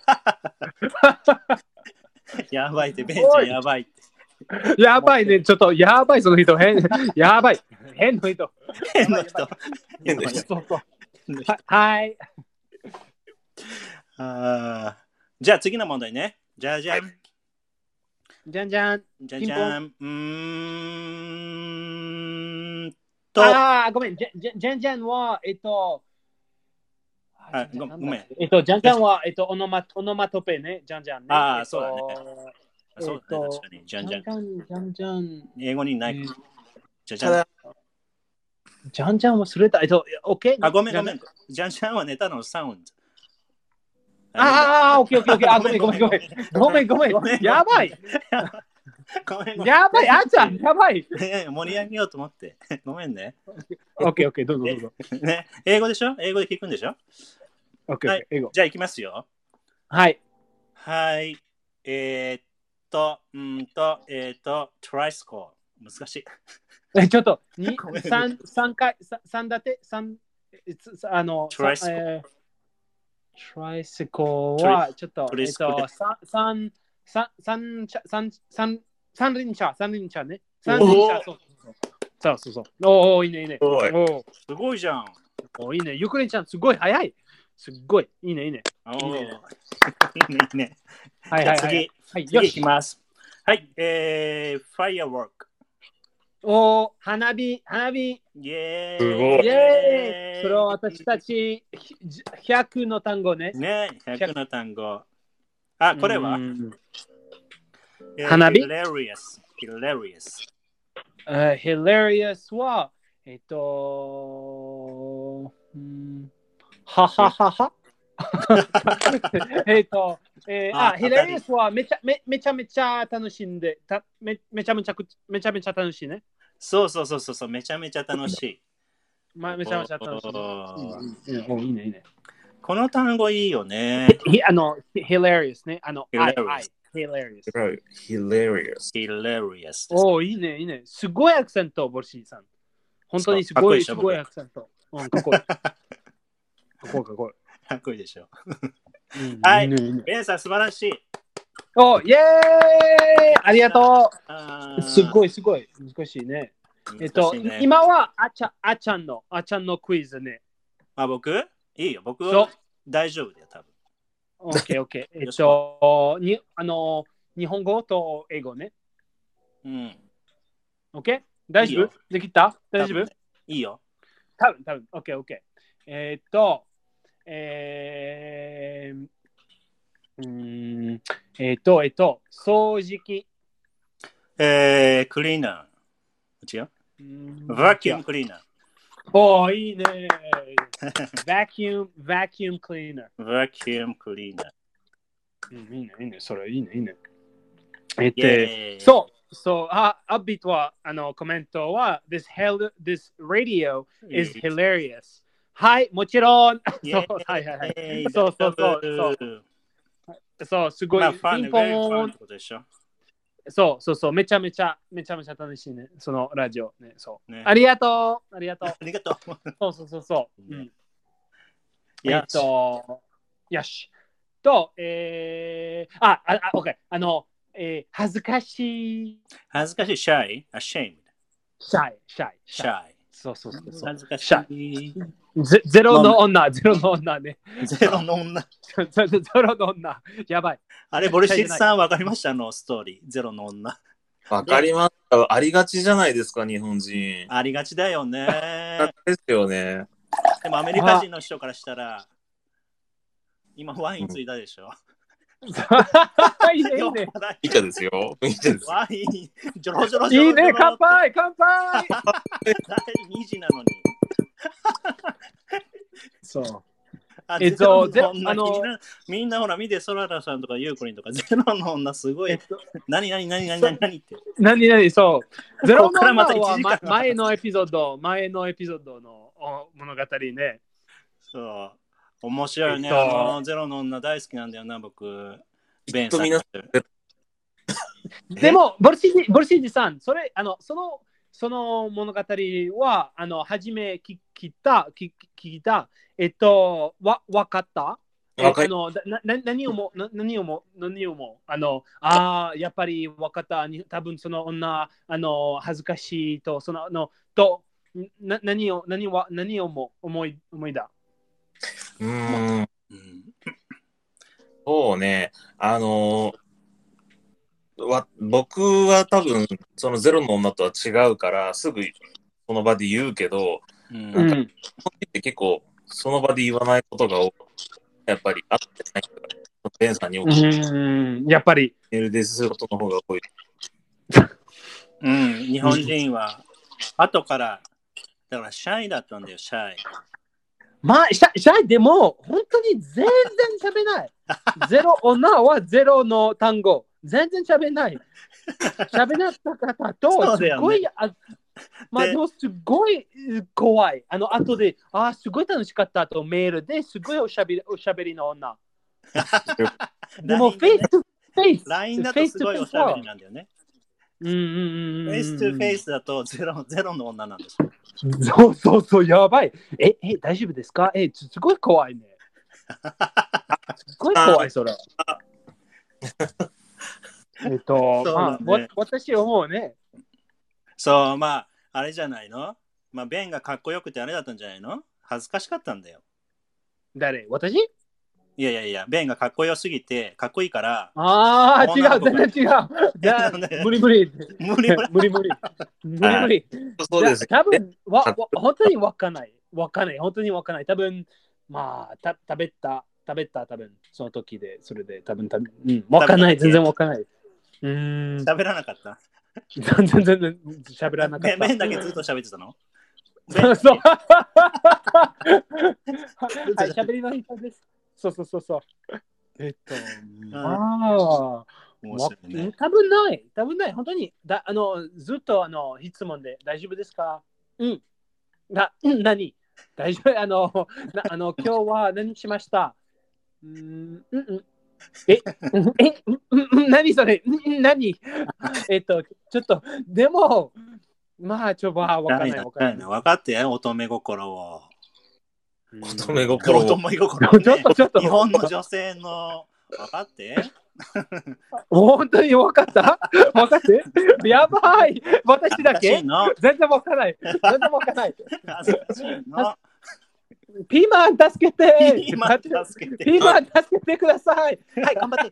やばいって、ベンちゃんやばいって。 やばいね、ちょっとやばい、その人。やばい。変の人。はい。 じゃあ次の問題ね。じゃん。 じゃん。ごめん。じゃんは、 ごめん。 じゃんは、オノマトペね。じゃんね。 そうだね。そうだね、確かに。じゃん。英語にない。じゃん。 じゃんはそれだ。OK？ ごめん。じゃんはネタのサウンド。 OK。ごめん。やばい。やばい、あちゃん、やばい。 盛り上げようと思って。ごめんね。 OK、どうぞ。 ね、英語でしょ？英語で聞くんでしょ？ OK、英語。 じゃあ行きますよ。 はい。 トライスコー。難しい。 ちょっと、3回、3立て、トライスコー。 トライシコはちょっと、三輪車ね。三輪車、そう。おお、いいね、いいね。 すごいじゃん。 おいいね。ゆくりんちゃん、すごい早い。すっごい。いいね。 いいね。 はい。 次いきます。はい。ファイアワーク。 お花火。 イェーイ。 イェーイ。それは私たち100の単語ね。 ね、100の単語。あ、これは花火 hilarious。 hilarious は、ははははhilarious はめちゃめちゃ楽しんで、めちゃめちゃ楽しいね。 そう、めちゃめちゃ楽しい。 めちゃめちゃ楽しい。いいね。 この単語いいよね。 hilarious ね。 hilarious。 おいいね。すごいアクセント、ボルシーさん。本当にすごいアクセント。かっこいい。 かっこいいでしょ。はい。ベンさん、素晴らしい。 おイェーイありがとう。すごい。難しいね。今はあちゃんのクイズね。 あ、僕いいよ。僕は大丈夫だよ、多分。 オッケー。日本語と英語ね。オッケー大丈夫できた大丈夫いいよ。 多分。オッケー。掃除機。 クリーナー。違うバキュームクリーナー。 おー、いいね。バキュームクリーナー。いいね。それいいね。アッビットはコメントは This radio is hilarious。はい、もちろん。そう、すごい。ピンポーン。そう、めちゃめちゃ楽しいね。そのラジオね。そう。ありがとう。そう。よし。と、OK。恥ずかしい。 shy。 そう。 恥ずかしい。 ゼロの女ね。 ゼロの女。 やばい。 あれ、ボルシッチさんわかりましたストーリー。ゼロの女。 わかりました。ありがちじゃないですか、日本人。 ありがちだよね。 ですよね。 でもアメリカ人の人からしたら、今ワインついたでしょ。 いいね。 いい茶ですよ。 ワイン、ジョロジョロ。 いいね、乾杯第2次なのに。 そう。 みんなほら見て、ソララさんとかユーコリンとか、ゼロの女すごい。何って。 そう。ゼロの女は前のエピソードの物語ね。 そう。面白いよね。ゼロの女大好きなんだよな、僕。ベンさん。 でも、ボルシージさん、その物語は、初め聞いた、わかった何をも、やっぱりわかった。多分その女、恥ずかしいと、何を思いだ。 そうね。僕は多分そのゼロの女とは違うからすぐその場で言うけど、なんかって結構その場で言わないことが多い。やっぱりあってないからベンさんにやっぱりメールですることの方が多い。 日本人は後からだからシャイだったんだよ、シャイ。 シャイでも本当に全然喋れない。ゼロ女はゼロの単語。全然喋れない。喋らなかったと、すごい、でもすごい怖い。後で、すごい楽しかったとメールですごいおしゃべりの女。でも、フェイストゥフェイス。 LINE だとすごいおしゃべりなんだよね。フェイストゥフェイスだとゼロの女なんですよ。 そう、やばい。大丈夫ですかすごい怖いね。 すごい怖い、それ。 そうだね私思うね。 そう、まあ、あれじゃないのまあ、ベンがかっこよくてあれだったんじゃないの恥ずかしかったんだよ。 誰私いやいやいや、ベンがかっこよすぎて、かっこいいから。 ああ、違う、全然違う。じゃあ、無理無理。 無理無理無理。無理無理。 そうです。 多分本当にわかんない。わかんない。本当にわかんない。多分まあ、食べた、多分その時で、それで、多分わかんない。全然わかんない。 喋らなかった。 全然喋らなかった。 ベンだけずっと喋ってたのそうそう。はい、喋りの人です。そう。ああ、 ね、 多分ない。本当に、ずっと質問で大丈夫ですか何大丈夫今日は何しました何それ何ちょっと、でも、まあ、わかんない。 分かってよ、乙女心を。 乙女心を。 ちょっと。 日本の女性の、分かって本当に分かった分かってやばい私だけ全然分かんない。ピーマン助けてピーマン助けてくださいはい、頑張って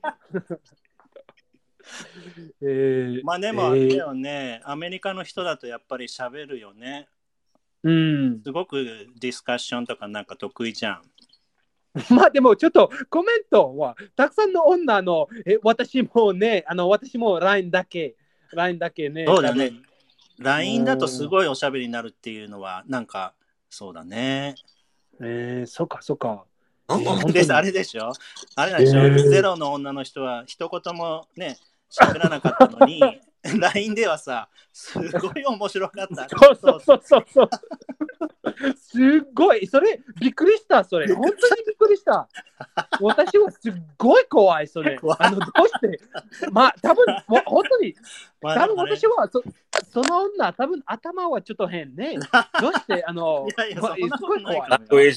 まあでもあれだよね、アメリカの人だとやっぱり喋るよね。すごくディスカッションとかなんか得意じゃん。 まあでもちょっとコメントはたくさんの女の私もね、私も LINE だけね。 そうだね。LINE だとすごいおしゃべりになるっていうのはなんかそうだね。 そっか。 あれでしょゼロの女の人は一言もね、喋らなかったのに、LINE ではさ、すごい面白かった。 そう。すごい、それ、びっくりした、それ。本当にびっくりした。私はすっごい怖い、それ。どうして、まあ、多分本当に、多分私は、その女、多分頭はちょっと変ね。どうして、 すごい怖い。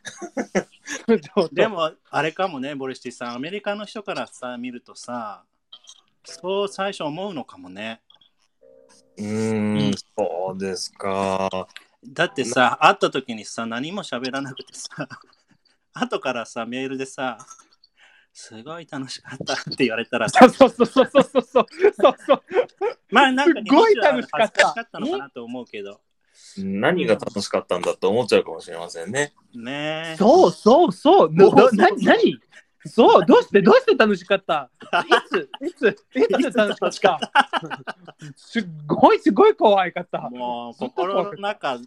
でも、あれかもね、ボリシティさん、アメリカの人からさ、見るとさ、そう最初思うのかもね。 そうですか。 だってさ、会った時にさ、何も喋らなくてさ、後からさ、メールでさ、すごい楽しかったって言われたらさ、 そう。 まあなんかすごい楽しかった。 恥ずかしかったのかなと思うけど。 何が楽しかったんだと思っちゃうかもしれませんね。 ね。 そう。何そう、どうして楽しかったいつ楽しかったすっごい怖かった。 もう心の中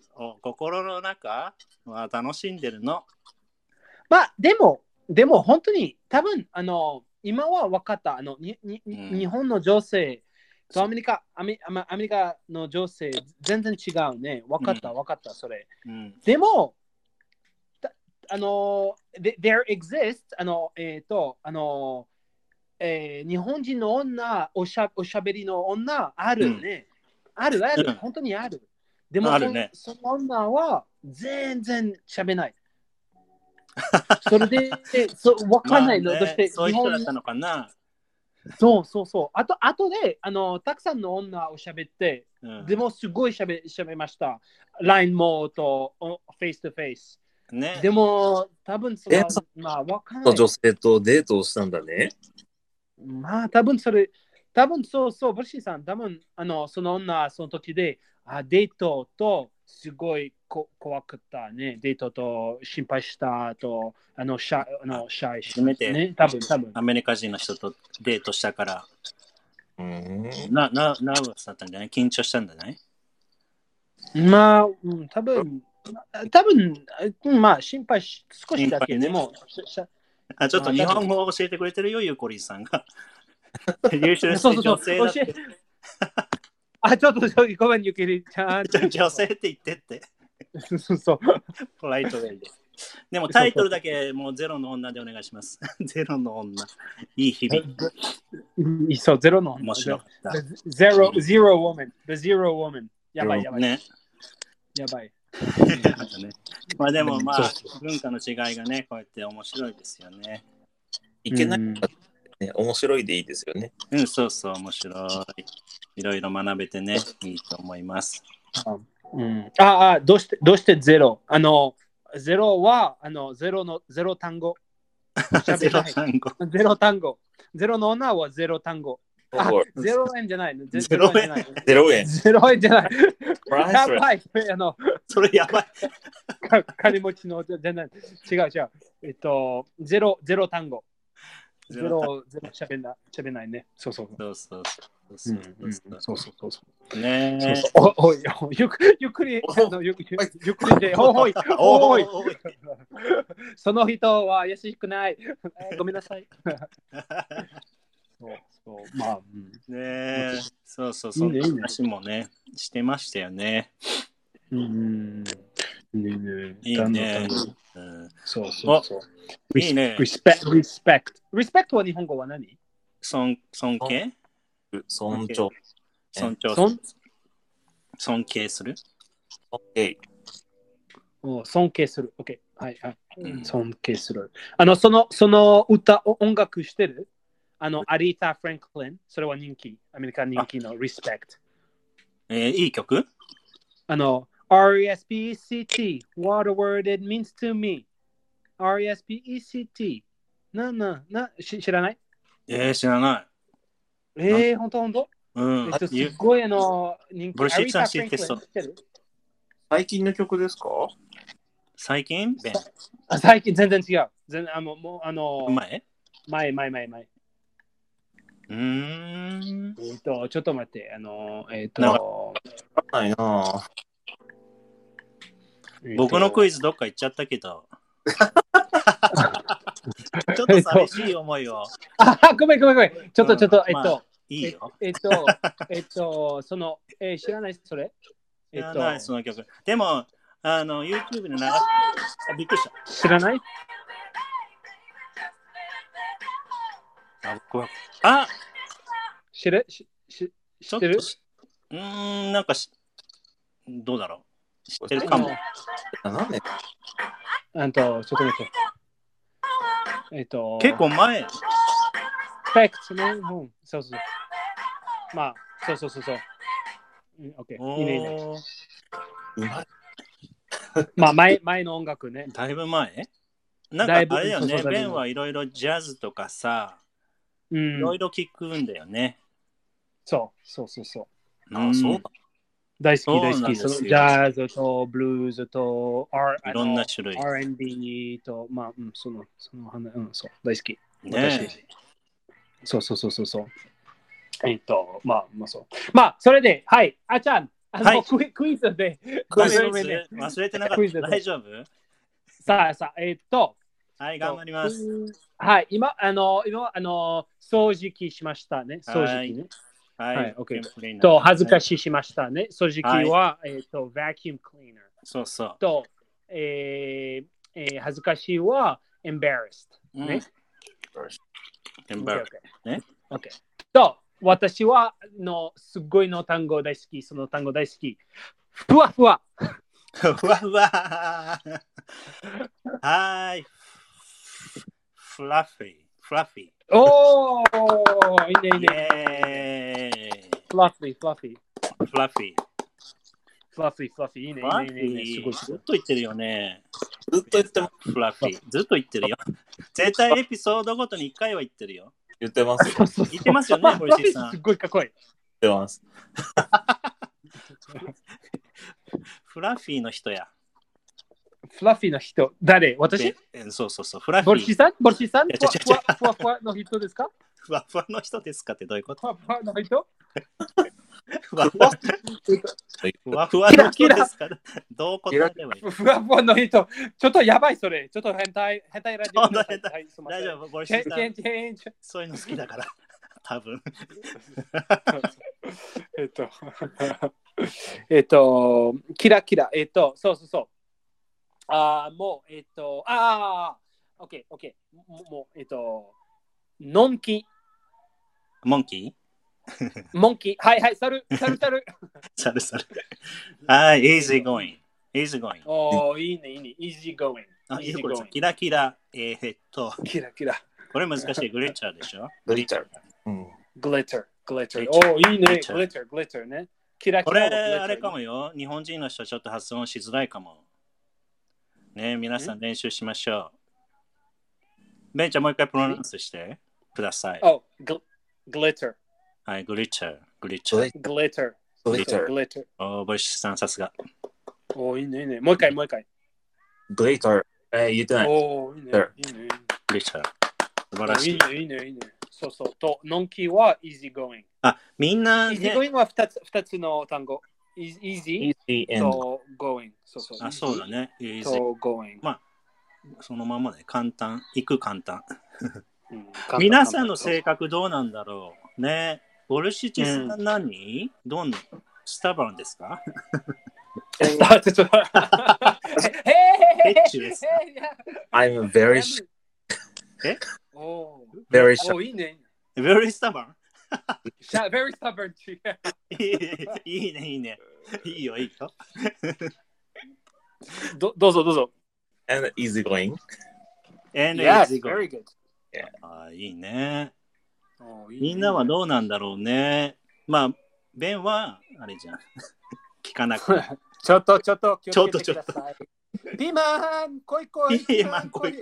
は楽しんでるの。 まあ、でも本当に多分、今は分かった。日本の女性とアメリカの女性、全然違うね。分かった、それ。でも、there exists 日本人の女おしゃべりの女あるね、ある、本当にある。でも、ね、その女は全然しゃべない。それでわかんないの、 まあね、 どうしてそういう人だったのかな。 そうあとでたくさんの女をしゃべって、でもすごいしゃべました。LINE もとフェイストフェイス。ね、でも、多分まあ、わかんない。 女性とデートをしたんだね。 まあ、多分そう、ブルシーさん、多分その女、その時で、デートと、すごい怖かったね。デートと心配したと、シャイ初めて、 ね、多分。 アメリカ人の人とデートしたから、ナーバスだったんじゃない？緊張したんじゃない？ まあ、多分、まあ、心配少しだけでも、 ちょっと日本語を教えてくれてるよ、ゆうこりんさんが。優秀そう女性だって。ちょっとごめん、ゆきりちゃん。 女性って言ってって。 そう。 ポライトウェイで。でもタイトルだけもうゼロの女でお願いします。ゼロの女。いい日々。 そう、ゼロの女。 面白かった。 Zero woman. The zero woman. やばい。 ね。 やばい。 ね、まあでもまあ、文化の違いがね、こうやって面白いですよね。 いけないからね、面白いでいいですよね。 うん、そうそう、面白い。いろいろ学べてね、いいと思います。 どうしてゼロゼロは、ゼロ単語。 ゼロ単語。 ゼロ単語。ゼロの女はゼロ単語。0円じゃない。 0円。 0円。 0円じゃない。やばい。 それやばい。 金持ちのじゃない。違う。ゼロ単語。ゼロしゃべんないね。そう。 ねえ。 ゆっくりで、おい。その人は優しくない。ごめんなさい。まあ、 ねえ。そう、そんな話もね、してましたよね。いいね。 そう。 いいね。 リスペクトは日本語は何？ 尊敬尊重。 尊敬する。 尊敬する。OK。はい。尊敬する。その音楽してる？アリータ・フランクリン。それは人気。アメリカ人気の Respect。 いい曲 ？RESPECT What a word it means to me RESPECT 知らない？ 知らない。 ほんとすごい人気。 ブルシッさん知ってそう。 最近の曲ですか？ 最近最近全然違う。前。ちょっと待って。 ないな。 僕のクイズどっか行っちゃったけど。ちょっと寂しい思いを。 ごめん。ちょっと、 いいよ。 知らないそれ？ 知らないその曲。でも、YouTube で流しびっくりした。 知らない？知ってる？ なんかどうだろう。知ってるかも。 なんで？ ちょっと待って。 結構前。 Respect ね。そう。まあ、そう。OK。いいね。まあ、前の音楽ね。 だいぶ前？なんかあれよね。ベンはいろいろジャズとかさ、いろいろ聞くんだよね。 そう。 そう。 大好き。ジャズとブルーズといろんな種類。 R&B と、まあ、その花、そう、大好き。 ね。 そう。まあ、そう。まあ、それで、はい、あちゃん、クイズで。 忘れてなかった。大丈夫？ さあ、 はい、頑張ります。 はい、今、掃除機しましたね。掃除機ね。はい、OK。恥ずかししましたね。掃除機は、vacuum cleaner。 そう。 恥ずかしいは、embarrassed。ね。OK。私はすごいの単語大好き。その単語大好き。ふわふわ。 はい。フラフィー。 おー、いいね。フラフィー。いいね。すごい。 ずっと言ってるよね。 ずっと言ってます。 フラフィー。ずっと言ってるよ。絶対エピソードごとに1回は言ってるよ。 言ってます。 言ってますよね、堀市さん。 すごいかっこいい。 言ってます。 フラフィーの人や。 フラフィーの人、誰？私？ そう。フラフィー。 ボルシさんふわふわの人ですか？ ふわふわの人ですかってどういうこと？ ふわふわの人？ ふわふわの人ですか？どう答えればいい？ ふわふわの人。ちょっとやばいそれ。ちょっと変態ラジオ。 大丈夫、ボルシさん。そういうの好きだから。多分。 キラ。そう。もう、OK。もう、のんき。 モンキーはい、猿。 猿。はい、easy going。 easy going。 おー、いいね、いいね。easy going。 いいこれキラキラ。 キラキラ。 これ難しい。グリッチャーでしょグリッター。 グリッター。グリッター。おー、いいね。グリッター、グリッターね。キラキラ。 これ、あれかもよ。日本人の人ちょっと発音しづらいかも。ね、皆さん練習しましょう。ベンちゃんもう一回プロナンスしてください。 お、グリッター。 はい、グリッチャー。グリッチャー。 グリッター。 グリッター。 グリッター。 おー、ボイシさんさすが。 おー、いいね、いいね。もう一回、もう一回。 グリッター。言ってない。 おー、いいね。いいね。 グリッチャー。素晴らしい。 いいね、いいね、いいね。そうそう。と、ノンキーは easy going。 みんな、 easy going は2つの単語。easy と going。そうそう。 そうだね。 と going。 まあ、そのままね、簡単。行く簡単。皆さんの性格どうなんだろうね。ボルシチさん何、スタバンですかヘッチです。 I'm very shy. Very shy. いいね。 Very stubborn. Very stubborn. いいね、いいね。いいよ、いいよ。 どうぞ。 And easy going. And yes, easy going. Very good. いいね。みんなはどうなんだろうね。まあ、ベンは、あれじゃん。聞かなくて。 ちょっと、気をつけてください。ピーマン、来い。 ピーマン、来い。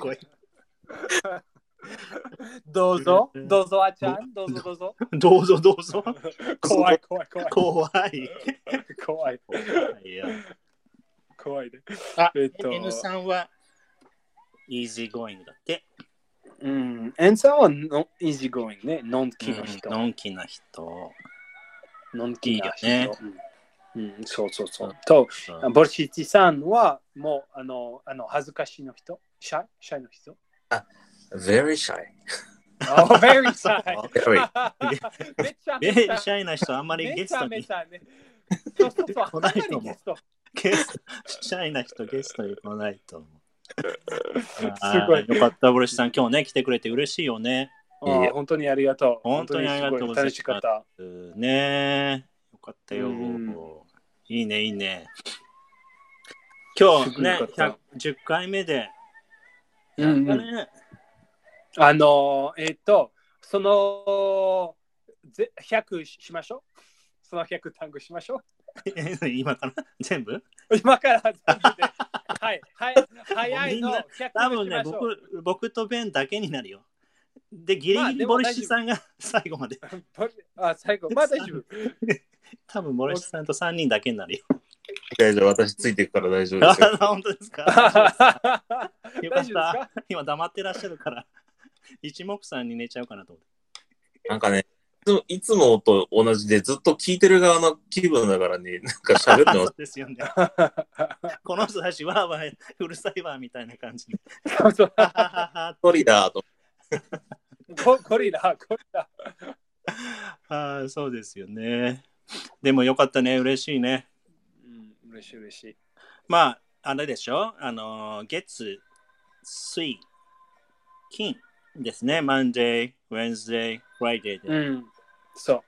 どうぞ、あちゃん。どうぞ。 どうぞ。 怖い。怖いね。 N さんは、easy going だって。 N さんはeasy going ね。のんきな人。 のんきな人。 いいよね。そう。 と、 ボルシチさんはもう恥ずかしいの人。シャイの人。 Very shy. Very shy. めっちゃシャイな人あんまりゲストに。 そう。 来ないと思う。シャイな人ゲストに来ないと思う。すごい。よかった、ボルシさん。今日ね、来てくれて嬉しいよね。 本当にありがとう。 本当にありがとうございます。 楽しかった。 ね。よかったよ。いいね。今日ね、10回目で。 その100しましょう。その100単語しましょう。今から全部で。はい。早いの100 多分ね、僕とベンだけになるよ。で、ギリギリボルシさんが最後まで。 最後。大丈夫。 多分ボルシさんと3人だけになるよ。 大丈夫、私ついていくから大丈夫ですよ。 本当ですか？よかった。今黙ってらっしゃるから、一目散に寝ちゃうかなと思って。 なんかね、いつもと同じでずっと聞いてる側の気分だからね、なんか喋るのそうですよね。この人たちはうるさいわみたいな感じで。 ゴリラと。 ゴリラ。 そうですよね。でもよかったね、嬉しいね。 嬉しい。 まあ、あれでしょ、月、水、金ですね。Monday、Wednesday、Friday で。 そう。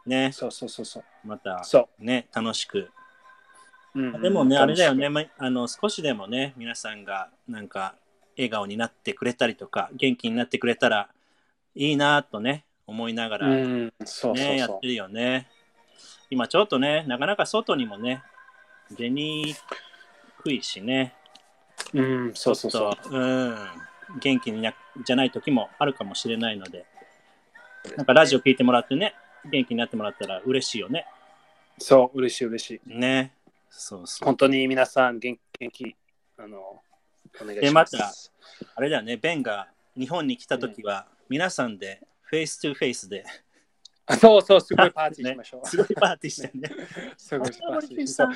ね。 そう。 また、ね、楽しく。でもね、あれだよね、少しでもね、皆さんがなんか笑顔になってくれたりとか、元気になってくれたらいいなとね、思いながら、ね、やってるよね。今ちょっとね、なかなか外にもね、出にくいしね。そう。元気にじゃない時もあるかもしれないので、なんかラジオ聞いてもらってね、元気になってもらったら嬉しいよね。 そう、嬉しい。 ね。そう。 本当に皆さん元気、お願いします。 で、また、あれだよね、ベンが日本に来た時は、皆さんでフェイストゥフェイスで、 そう、すごいパーティーしましょう。 すごいパーティーしてね。 すごいパーティーして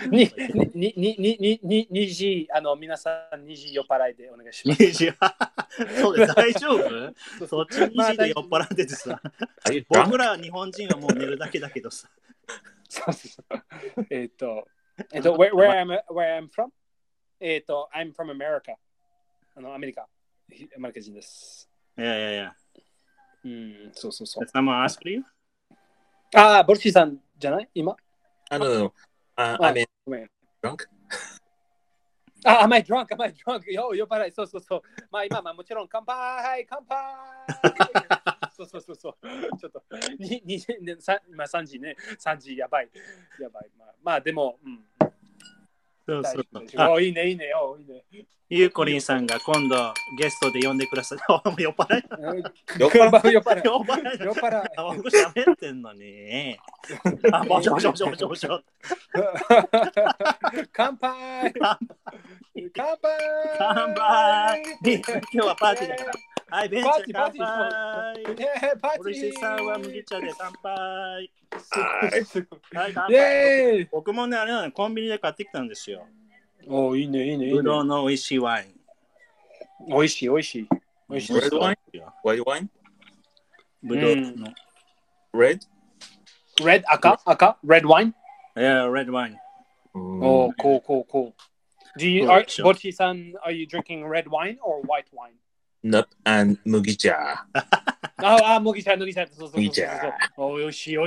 2時、皆さん2時酔っ払いでお願いします。 2時そうです、大丈夫？そっち2時で酔っ払っててさ。僕ら日本人はもう寝るだけだけどさ。 そう。where I'm from? I'm from America. アメリカ人です。 いや。 そう。 Someone asked you? ボルシーさんじゃない今 I mean, drunk? あ、am I drunk? Am I drunk? 酔っ払い。そうそうそう。まあ今、もちろん乾杯乾杯そうそうそうそう。ちょっと、今3時ね。3時やばい。やばい。まあでも、 そうそうそう。いいね、いいね。いいね。 ゆうこりんさんが今度ゲストで呼んでください。酔っ払い。 酔っ払い。 酔っ払い。酔っ払い。僕喋ってんのに。あ、もしもしもしもしもし。 乾杯乾杯乾杯今日はパーティーだから。はい、ベンチャー乾杯おりしさんは麦茶で乾杯はい、乾杯僕もね、あれなのコンビニで買ってきたんですよ。 お、いいね、いいね。 ぶどうの美味しいワイン。 美味しい、美味しい。美味しい。 Red wine? White wine? ぶどうの。 Red? Red? 赤 Red wine? Yeah, red wine. Oh, cool. Bochi-san, are you drinking red wine or white wine? Nope, and 麦茶。 麦茶。そう。お、よしい。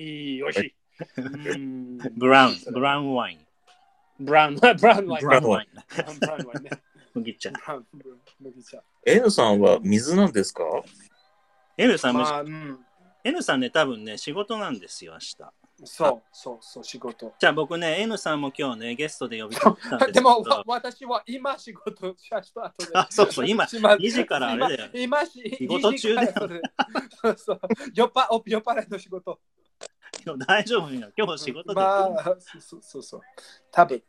ブラウンワイン。 ブラウンワイン。 麦茶。 N さんは水なんですか？ N さん、N さんね、多分ね、仕事なんですよ、明日。 そう、仕事。 じゃあ僕ね、N さんも今日ね、ゲストで呼びたんですけど。 でも、私は今仕事した後で。 そう、今、2時からあれだよ。 今仕事中だよ。 そう、酔っ払いの仕事。 大丈夫よ、今日仕事で。 そう。多分。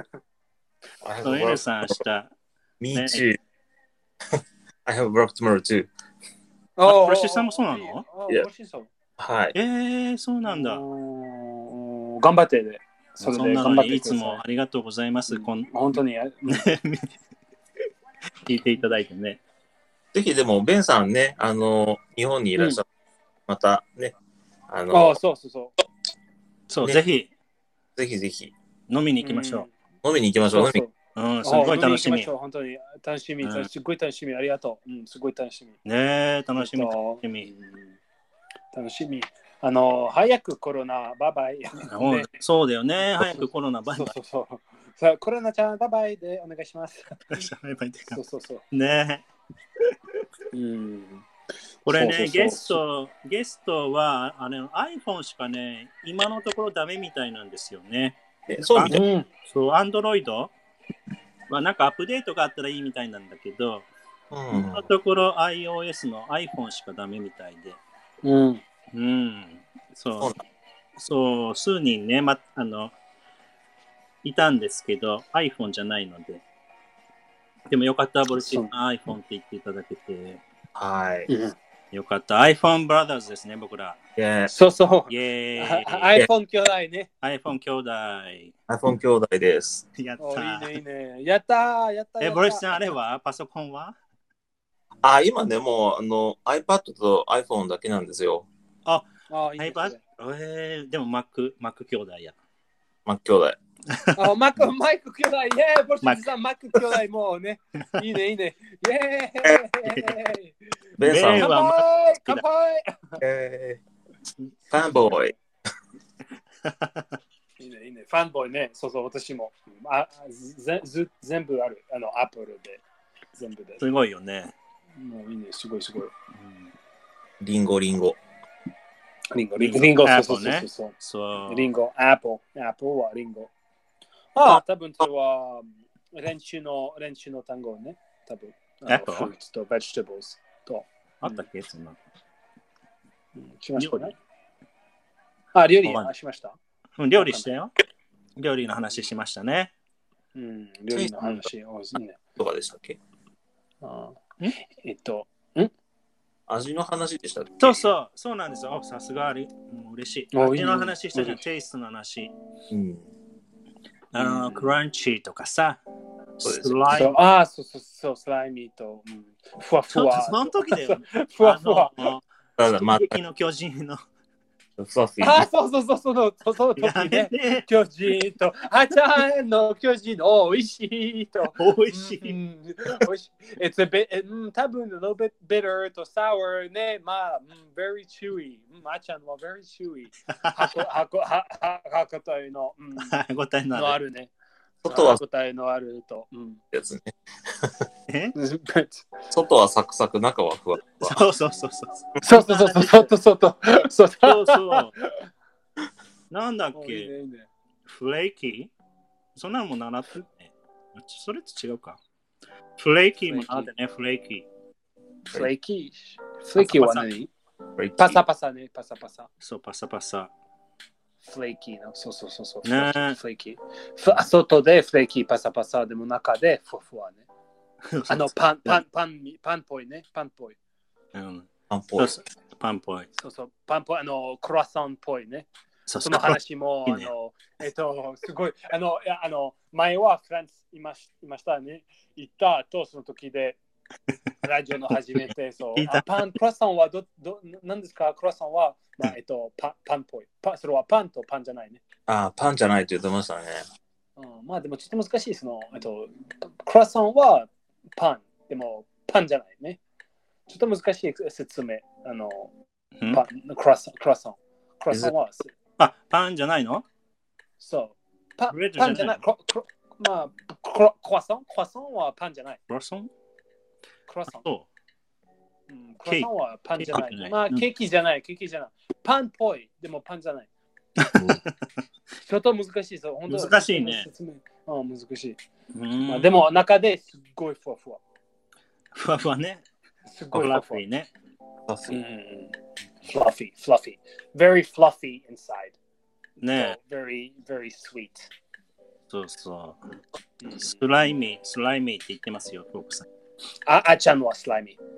N さん、明日。 Me too. I have work tomorrow too. プレッシャーさんもそうなの？ はい。 そうなんだ。 頑張ってね。 そんなのいつもありがとうございます。 本当に。 聞いていただいてね。 ぜひでも、ベンさんね、日本にいらっしゃる。またね、 そう。 そう、ぜひ。 ぜひ。 飲みに行きましょう。飲みに行きましょう。 すごい楽しみ。 本当に楽しみ。すごい楽しみ。ありがとう。すごい楽しみ。 ねえ、楽しみ。 楽しみ。早くコロナ、バイバイ。 そうだよね。早くコロナ、バイバイ。 そう。コロナちゃん、バイバイでお願いします。 バイバイで。 そう。 ねえ。これね、ゲストはiPhone しかね、今のところダメみたいなんですよね。 そうみたい。 そう、Android はなんかアップデートがあったらいいみたいなんだけど、今のところ iOS の iPhone しかダメみたいで。そう、数人ね、いたんですけど、iPhone じゃないので。でもよかった、ボルチン iPhone って言っていただけて。 はい。 よかった。iPhone Brothers ですね、僕ら。 そう。 イェーイ。 iPhone 兄弟ね。 iPhone 兄弟。 iPhone 兄弟です。 やった。 いいね。やったボルチさん、あれはパソコンは？ 今ね、もうiPad と iPhone だけなんですよ。 iPad？でも Mac 兄弟や。 Mac 兄弟。 マイク兄弟、ボルチさん、マック兄弟もうね。いいね。イェーイ。 ベンさんは乾杯。 ファンボーイ。 いいね。ファンボーイね。そう、私も。全部ある。アプリで。全部で。 すごいよね。 もういいね。すごい。 リンゴ。 リンゴ、そう。リンゴ、アップルはリンゴ。多分それは練習の単語ね。多分。フルーツとベジタブルと。 あったっけそんな。 しましたね。料理しました。 料理したよ。料理の話しましたね。 料理の話。 とかでしたっけ？味の話でしたっけ？ そうなんですよ。さすが嬉しい。味の話したじゃん。テイストの話。クランチとかさ。 スライム。そう、スライミーと。ふわふわ。 その時だよ。 ふわふわ。 の巨人の。 そう、その時ね。巨人と、ちゃんの巨人、おいしいと。 おいしい。 多分、a little bit bitter と sour ね。very chewy。あちゃんは very chewy。歯応えの。 歯応えのあるね。 外は答えのあると。 やつね。 え外はサクサク、中はふわふわ。 そうそうそうそう。 そうそうそうそうそうそう。なんだっけフレーキーそんなのも習ってね。それと違うか。フレーキーも習ってね、フレーキー。 フレーキーは何？パサパサね、パサパサ。 そう、パサパサ。 フレーキーの、そう。 ねフレーキー。外でフレーキーパサパサでも中でふわふわね。パンっぽいね、パンっぽい。 パンっぽい。 パンっぽい。 そう、パンっぽい、クロワッサンっぽいね。その話も、すごい、前はフランスいましたね。行った後、その時で、ラジオの初めて、そう、クロワッサンは何ですか？クロワッサンは、パンっぽい。それはパンとパンじゃないね。 パンじゃないって言ってましたね。 まあでもちょっと難しい。クロワッサンはパン、でもパンじゃないね。ちょっと難しい説明。クロワッサン。クロワッサンは。 パンじゃないの？ そう。パンじゃない。クワッサンはパンじゃない。 クワッサン？ クワッサン。 そう。 クワッサンはパンじゃない。まあ、ケーキじゃない。パンっぽい。でもパンじゃない。ちょっと難しい。そう難しいね。 難しい。でも中ですっごいふわふわ。 ふわふわね。 すごいふわふわね。 fluffy. Very fluffy inside. ね。 very, very sweet. そう。スライミーって言ってますよ、フォークさん。 あちゃんはスライミ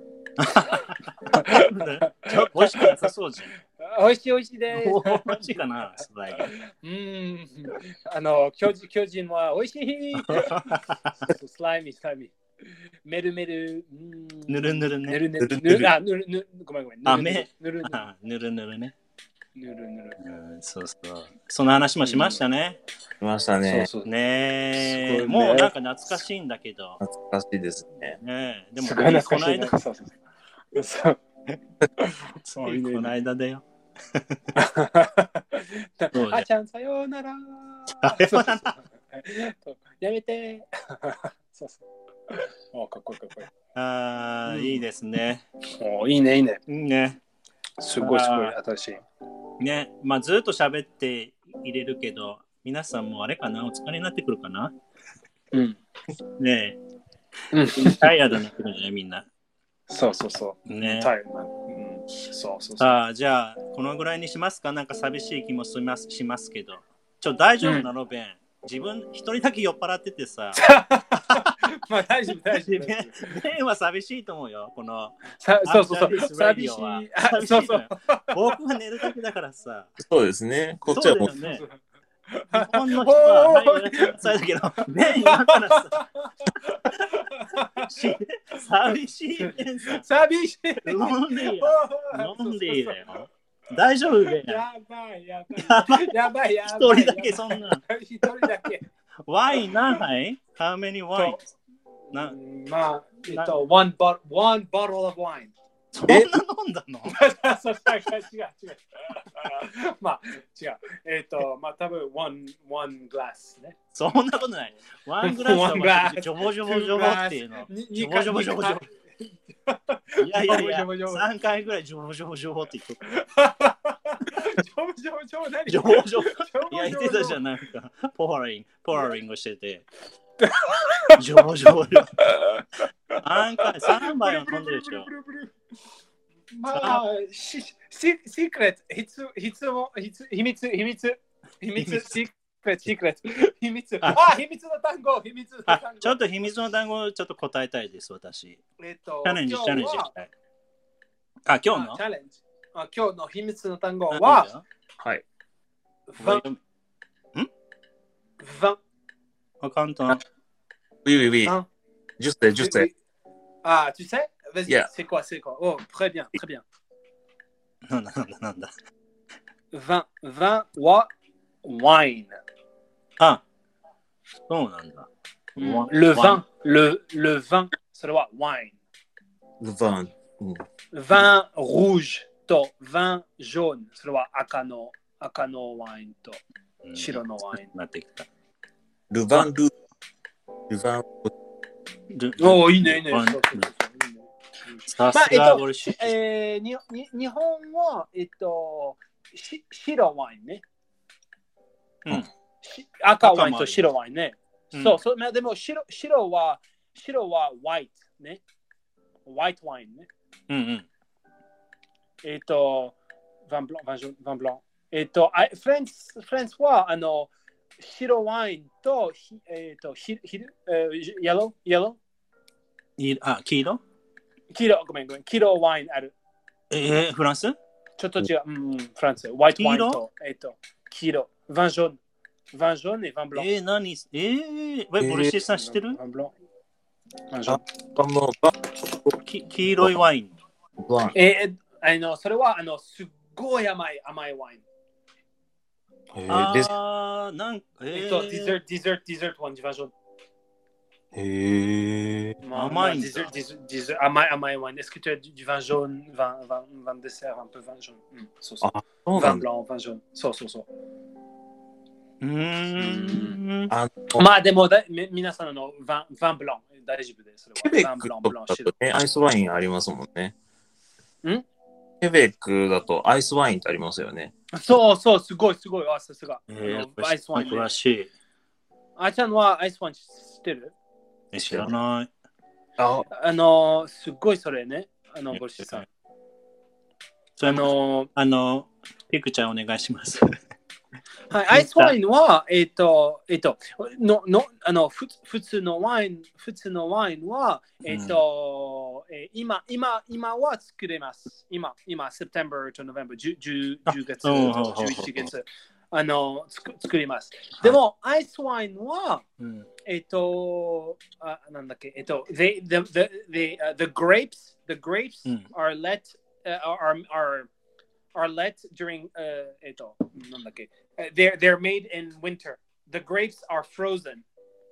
ー。美味しくなさそうじゃん。 美味しいです。 美味しいかな、スライミー。巨人は美味しい。スライミー。メル。 ぬるね。 ごめん。 ぬるね。 ぬる。 そう。その話もしましたね。 しましたね。 そうね。もうなんか懐かしいんだけど。 懐かしいですね。 ねでもこの間。 この間だよ。 あちゃんさようなら。やめて。そう。かっこいい。 いいですね。 いいね。すごい新しい。ね、まあずっと喋って入れるけど、皆さんもあれかな、お疲れになってくるかな。ねえ。タイヤードになってくるんじゃないみんな。 そう。 ね。 そう。 じゃあこのぐらいにしますか。なんか寂しい気もしますけど。大丈夫なのベン。自分一人だけ酔っ払っててさ。 まあ大丈夫。 ベンは寂しいと思うよ。このそう。寂しい。そう。 僕は寝るだけだからさ。 そうですね。こっちはもう。 日本の人はだけど、ベン今からさ。寂しい。ロンリーだよ。大丈夫ベン。 やばい。 一人だけそんな。ワイン何杯 ?How many wines? まあ、one bottle of wine。 そんな飲んだの？ 違う。まあ、違う。まあ、多分one glass ね。 そんなことない。one glass はジョボっていうの。ジョボ。いや、3回ぐらいジョボって言っとった。ジョボ。いや、言ってたじゃん、なんか。ポーラリングしてて。ジョボ。3杯は飲んでるでしょ。 まあ、シークレット、秘密、シークレット、秘密の単語。 ちょっと秘密の単語をちょっと答えたいです、私。チャレンジしたい。今日のチャレンジ。今日の秘密の単語は、 はい。 ヴ簡単。 Oui. Je sais. Ah, tu sais? Vas-y, Yeah. c'est quoi? Oh, très bien. なんだ。 vinは wine。 そうなんだ。 le vin、それは wine。 Le vin. vin rouge と vin jaune、それは赤のワインと白のワイン。 なってきた。 ルヴァンルヴァンおお、いいね、いいね。 さすがボルシチ。 日本は、白ワインね。赤ワインと白ワインね。そうそう、でも白はホワイトね。ホワイトワインね。ヴァンブラン。フランスは白ワインとイエロー黄色ごめん。黄色ワインある。 フランスちょっと違う。フランス。ホワイトワインと黄色。ヴァンジョンet vin blanc。 何ボルシチさん知ってる黄色いワイン。 それはすっごい甘いワイン。 なんか、 デザートワイン、ヴァンジョン。 甘いんだ。 甘いワイン。Est-ce que tu as du vin jaune, vin dessert, un peu vin jaune? Vin blanc, vin jaune. そう。まあでも皆さんのヴァンブラン大丈夫です。 ケベックとかだとね、アイスワインありますもんね。ケベックだとアイスワインってありますよね。 そう、すごい。さすが。 アイスワイン詳しい。 あちゃんはアイスワイン知ってる？ 知らない。 すごいそれね。ボルシチさん。 ピクちゃんお願いします。 はい、アイスワインは、普通のワインは、今は作れます。今、September to November、10月、11月、作ります。でも、アイスワインは、なんだっけ、the grapes are let during they're made in winter. The grapes are frozen.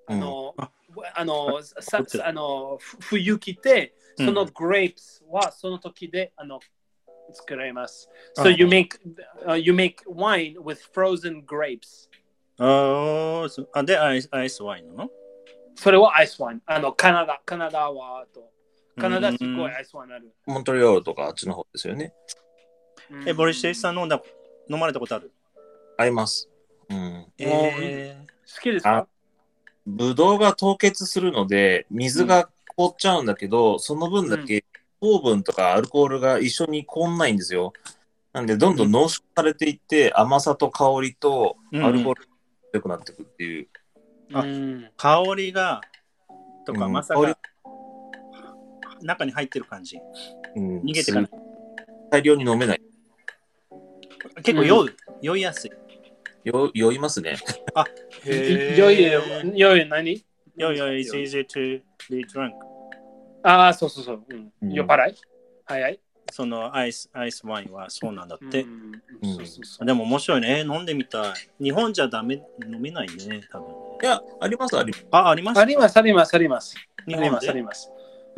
冬来て、その grapes はその時で作られます。So you make wine with frozen grapes. でアイスワインなの？ それはアイスワイン。カナダはカナダすごいアイスワインある。 モントリオールとかあっちの方ですよね。 ボルシチさん飲まれたことある？ あります。 好きですか？ ブドウが凍結するので、水が凍っちゃうんだけど、その分だけ糖分とかアルコールが一緒に凍んないんですよ。なんで、どんどん濃縮されていって、甘さと香りとアルコールが強くなっていくっていう。 香りが、とか甘さが中に入ってる感じ。逃げてかない。 大量に飲めない。 結構酔いやすい。 酔いますね。 酔い何？ 酔い it's easy to be drunk。 そう。酔っ払い？早い。 そのアイスワインはそうなんだって。でも面白いね。飲んでみたい。日本じゃ飲めないね、多分。 いや、あります。 あります。 あります。 日本であります。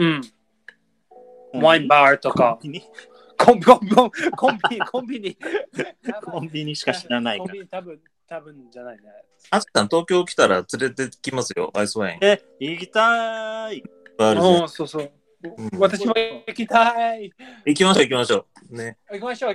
ワインバーとか。コンビニしか知らないから。 コンビニ多分じゃないね。 あつさん、東京来たら連れてきますよ、アイスワイン。 行きたい。 そう。私も行きたい。 行きましょう。ね。 行きましょう。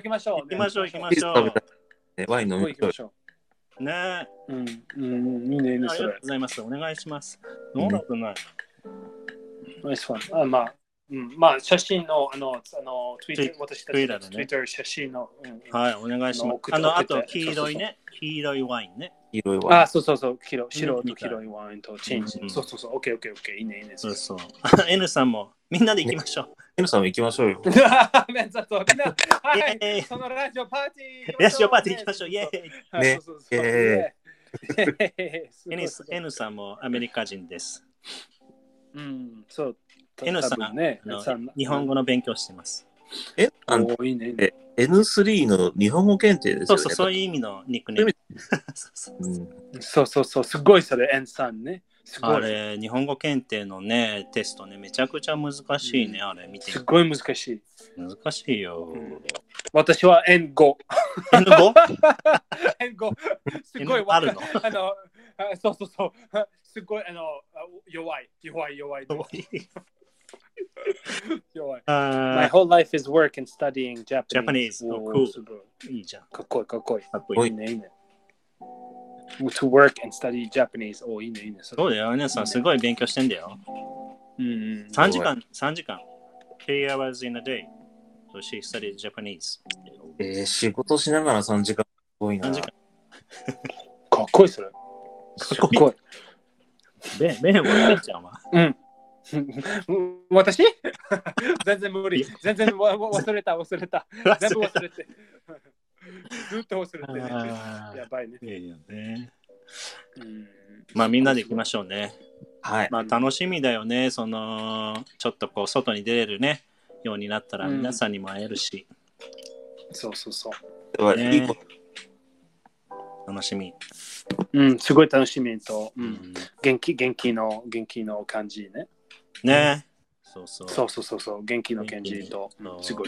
ワイン飲みましょう。ね。 いいね。 ありがとうございます。お願いします。飲んだことない。 ナイスワン。まあ、写真の、私たちの Twitter 写真の。 はい、お願いします。あと、黄色いワインね。 そう。白と黄色いワインとチンジ。そう。オッケー。いいね。 そう。N さんも、みんなで行きましょう。 N さんも行きましょうよ。 そのラジオパーティー行きましょう。イェーイ。N さんもアメリカ人です。 そう。 N さんね、日本語の勉強してます。 いいね。 N3 の日本語検定ですよね。 そういう意味のニックネーム。 そう。すごいそれ、N さんね。 あれ、日本語検定のね、テストね、めちゃくちゃ難しいね、あれ見て。 すごい難しい。 難しいよ。 私は N5。 N5？ N5。すごいあるのそうそうそう。すごい、弱い。弱い。弱い。My whole life is work and studying Japanese. Japanese. Oh, cool. すごい。 いいじゃん。 かっこいい、かっこいい。 かっこいい。 いいね、いいね。To work and study Japanese. お、いいね、いいね。 そうだよ、皆さんすごい勉強してんだよ。 3 時間。3 hours in a day. So she studied Japanese. 仕事しながら3時間。すごいな。 3時間。 かっこいい、それ。 かっこいい。ベンはちゃんは。 私全然無理。全然忘れた。全部忘れて。ずっと忘れて。やばいね。 いいよね。まあみんなで行きましょうね。 はい。 まあ楽しみだよね。ちょっとこう外に出れるねようになったら皆さんにも会えるし。 そう。 ね、楽しみ。 すごい楽しみと、元気の感じね。 ね。そう。 元気の感じと、すごい。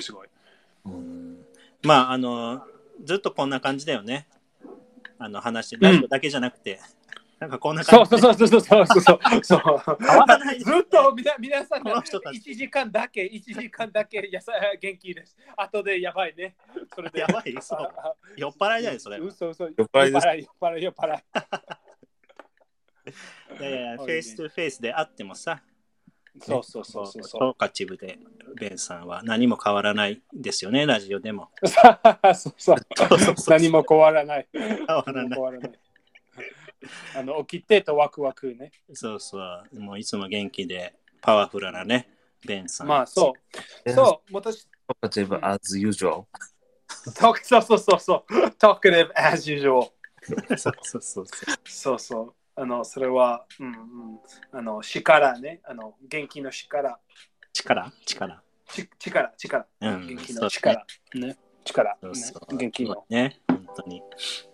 まあずっとこんな感じだよね。話してラジオだけじゃなくて、なんかこんな感じ。そう。変わらない。 ずっと皆さん1時間だけ元気です。後でやばいね。それでやばい。そう。酔っ払いだよそれ。 そう。 酔っ払いです。 酔っ払い。 いやフェイストゥフェイスであってもさ。 そう。 トーカチブでベンさんは何も変わらないですよね、ラジオでも。 そう。何も変わらない。起きてとワクワクね。 そう。もういつも元気でパワフルなね、ベンさん。 まあそう。私。 トーカチブ as usual。 そう。Talkative as usual。そう。それは、力ね。元気の力。 力。 元気の力。ね。力。元気の。 ね、本当に。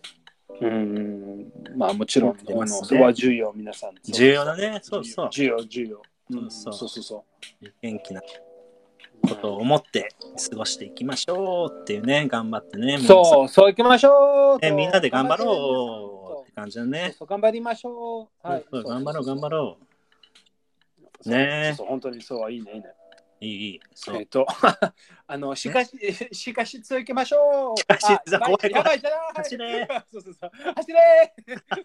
まあもちろん、それは重要、皆さん。 重要だね。そう。 重要。 そう。元気なことを思って過ごしていきましょうっていうね、頑張ってね。 そう行きましょう。 みんなで頑張ろうって感じだね。 頑張りましょう。はい。 頑張ろう。ね。 本当にそう、いいね。 いい。 しかし続けましょう。 怖い。 やばいじゃない。 走れ。 走れ。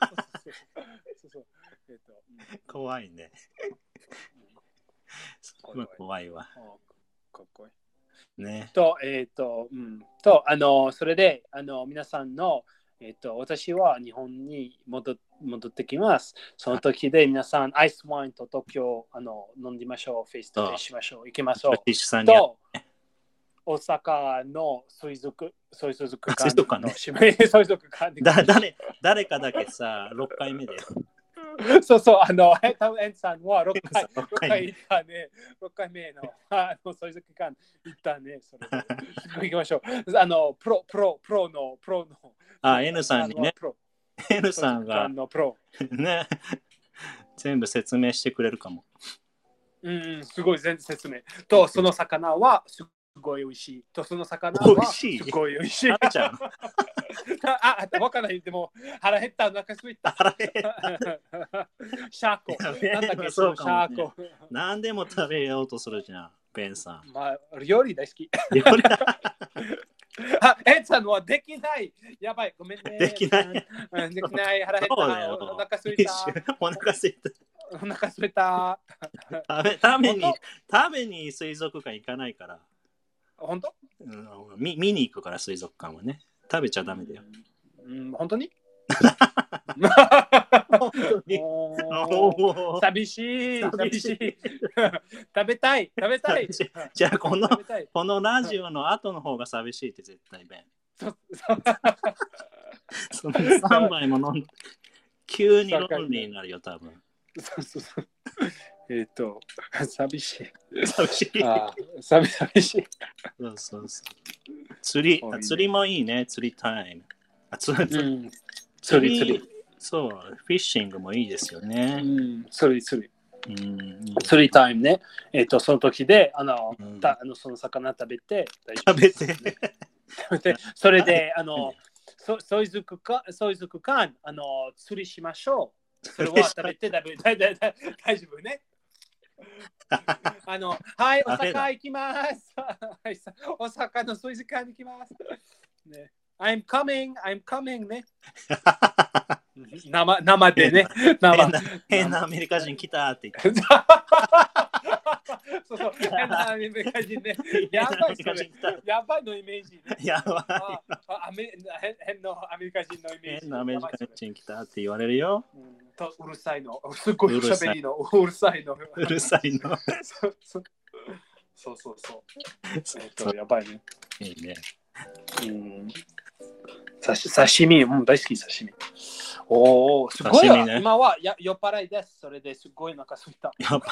怖いね。怖いわ。 かっこいい。 ね。 それで、皆さんの、私は日本に戻ってきます。その時で皆さん、アイスワインと東京飲んでみましょう。フェイストフェイスしましょう。行きましょう。と、大阪の水族館の水族館誰かだけさ、6回目で。 そう、ヘンさんは6回行ったね。6回目の水族館行ったね。それで行きましょう。プロの。 N さんにね。N さんがね、全部説明してくれるかも。 すごい全然説明。と、その魚はすごい美味しい。と、その魚はすごい美味しい。 食べちゃうのわからない。でも、腹減った、お腹すいた。シャーコ。なんだっけ、シャーコ。 何でも食べようとするじゃん、ベンさん。 まあ、料理大好き。エンさんはできない。やばい、ごめんね。 できない。 腹減った。お腹すいた。 お腹すいた。食べに水族館行かないから。 本当？ 見に行くから水族館はね。食べちゃダメだよ。 本当に？寂しい。食べたい。 じゃあこのラジオの後の方が寂しいって絶対弁。その3杯も飲んで急にロンリーになるよ多分。 寂しい。 寂しい。そう。釣りもいいね。釣りタイム。釣り。そう、フィッシングもいいですよね。 釣りタイムね。その時で、その魚食べて、それで、水族館、釣りしましょう。 それは食べて大丈夫ね。はい、大阪行きます。大阪のそういう時間に行きます。ね、I'm coming ね。生でね。 変なアメリカ人来たって言って。 そう、変なアメリカ人ね。やばいのイメージ、ね。 やばい。変なアメリカ人のイメージ。 変なアメリカ人来たって言われるよ。 うるさいの。すごい喋りの。うるさいの。そう。やばいね。 いいね。 刺身、大好き刺身。おお、すごい、ね。今は酔っ払いです。それですごいなんかすいた。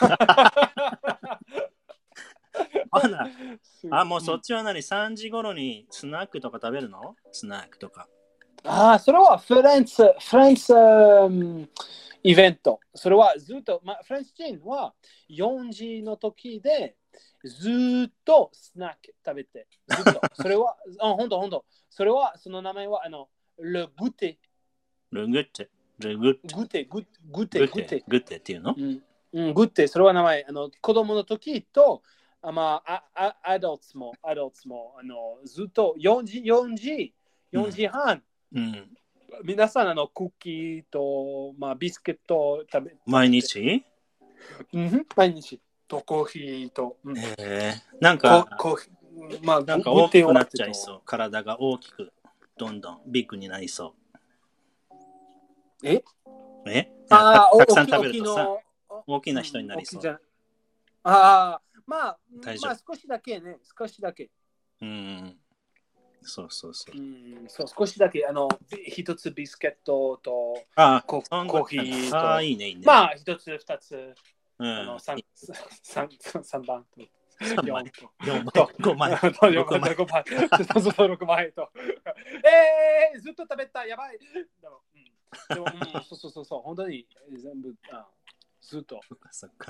もうそっちは何 ?3 時頃にスナックとか食べるの？スナックとか。 それはフランスイベント。それはずっと、フランス人は4時の時でずっとスナック食べて。ずっと。それは、ほんと。それは、その名前は、ルグテ。 グテっていうの？ グテ、それは名前。子供の時と、アダルトも、ずっと4時半。皆さん、クッキーと、ビスケットを食べて。 毎日毎日。とコーヒーと。 なんか大きくなっちゃいそう。体が大きく、どんどんビッグになりそう。たくさん食べるとさ、大きな人になりそう。 少しだけね。 そう。 少しだけ、一つビスケットとコーヒーと。 いいね。 一つ、二つ。3番と4と5枚と6枚とずっと食べたやばいでもそう本当に全部ずっとそっか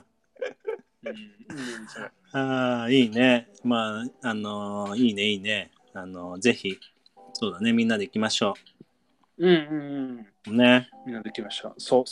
いいねいいねぜひそうだねみんなで行きましょうねみんなで行きましょう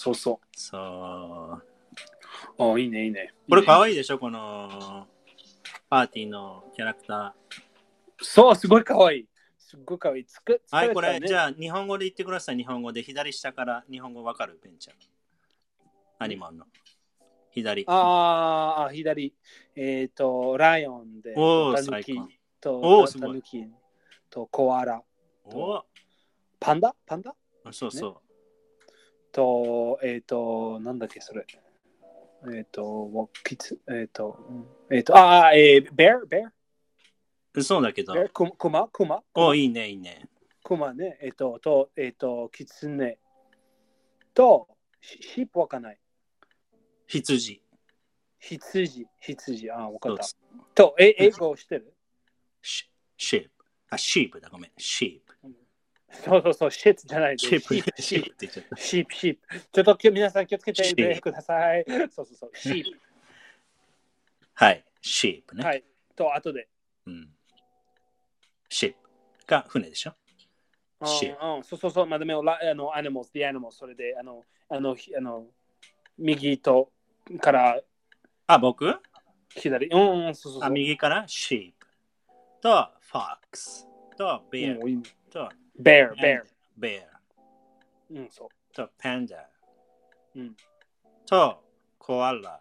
そういいねこれかわいいでしょこのパーティーのキャラクターそうすごいかわいいはいこれじゃあ日本語で言ってください日本語で左下から日本語わかるペンちゃんアニマンの左左ライオンでタヌキとコアラパンダそうとなんだっけそれベアそうだけどクマいいねクマねキツネとシープわかんない羊わかったと英語してるシープだごめんシープそう、シップじゃない。シープ。ちょっと皆さん気をつけてください。そう、シープ。 はい、シープね。 はい。と、後で。 シープが船でしょそう、まあ、でも、animals、それで、右とから。 僕左。そう。 右からシープと、フォックスと、ベアと、 bear そうとパンダとコアラ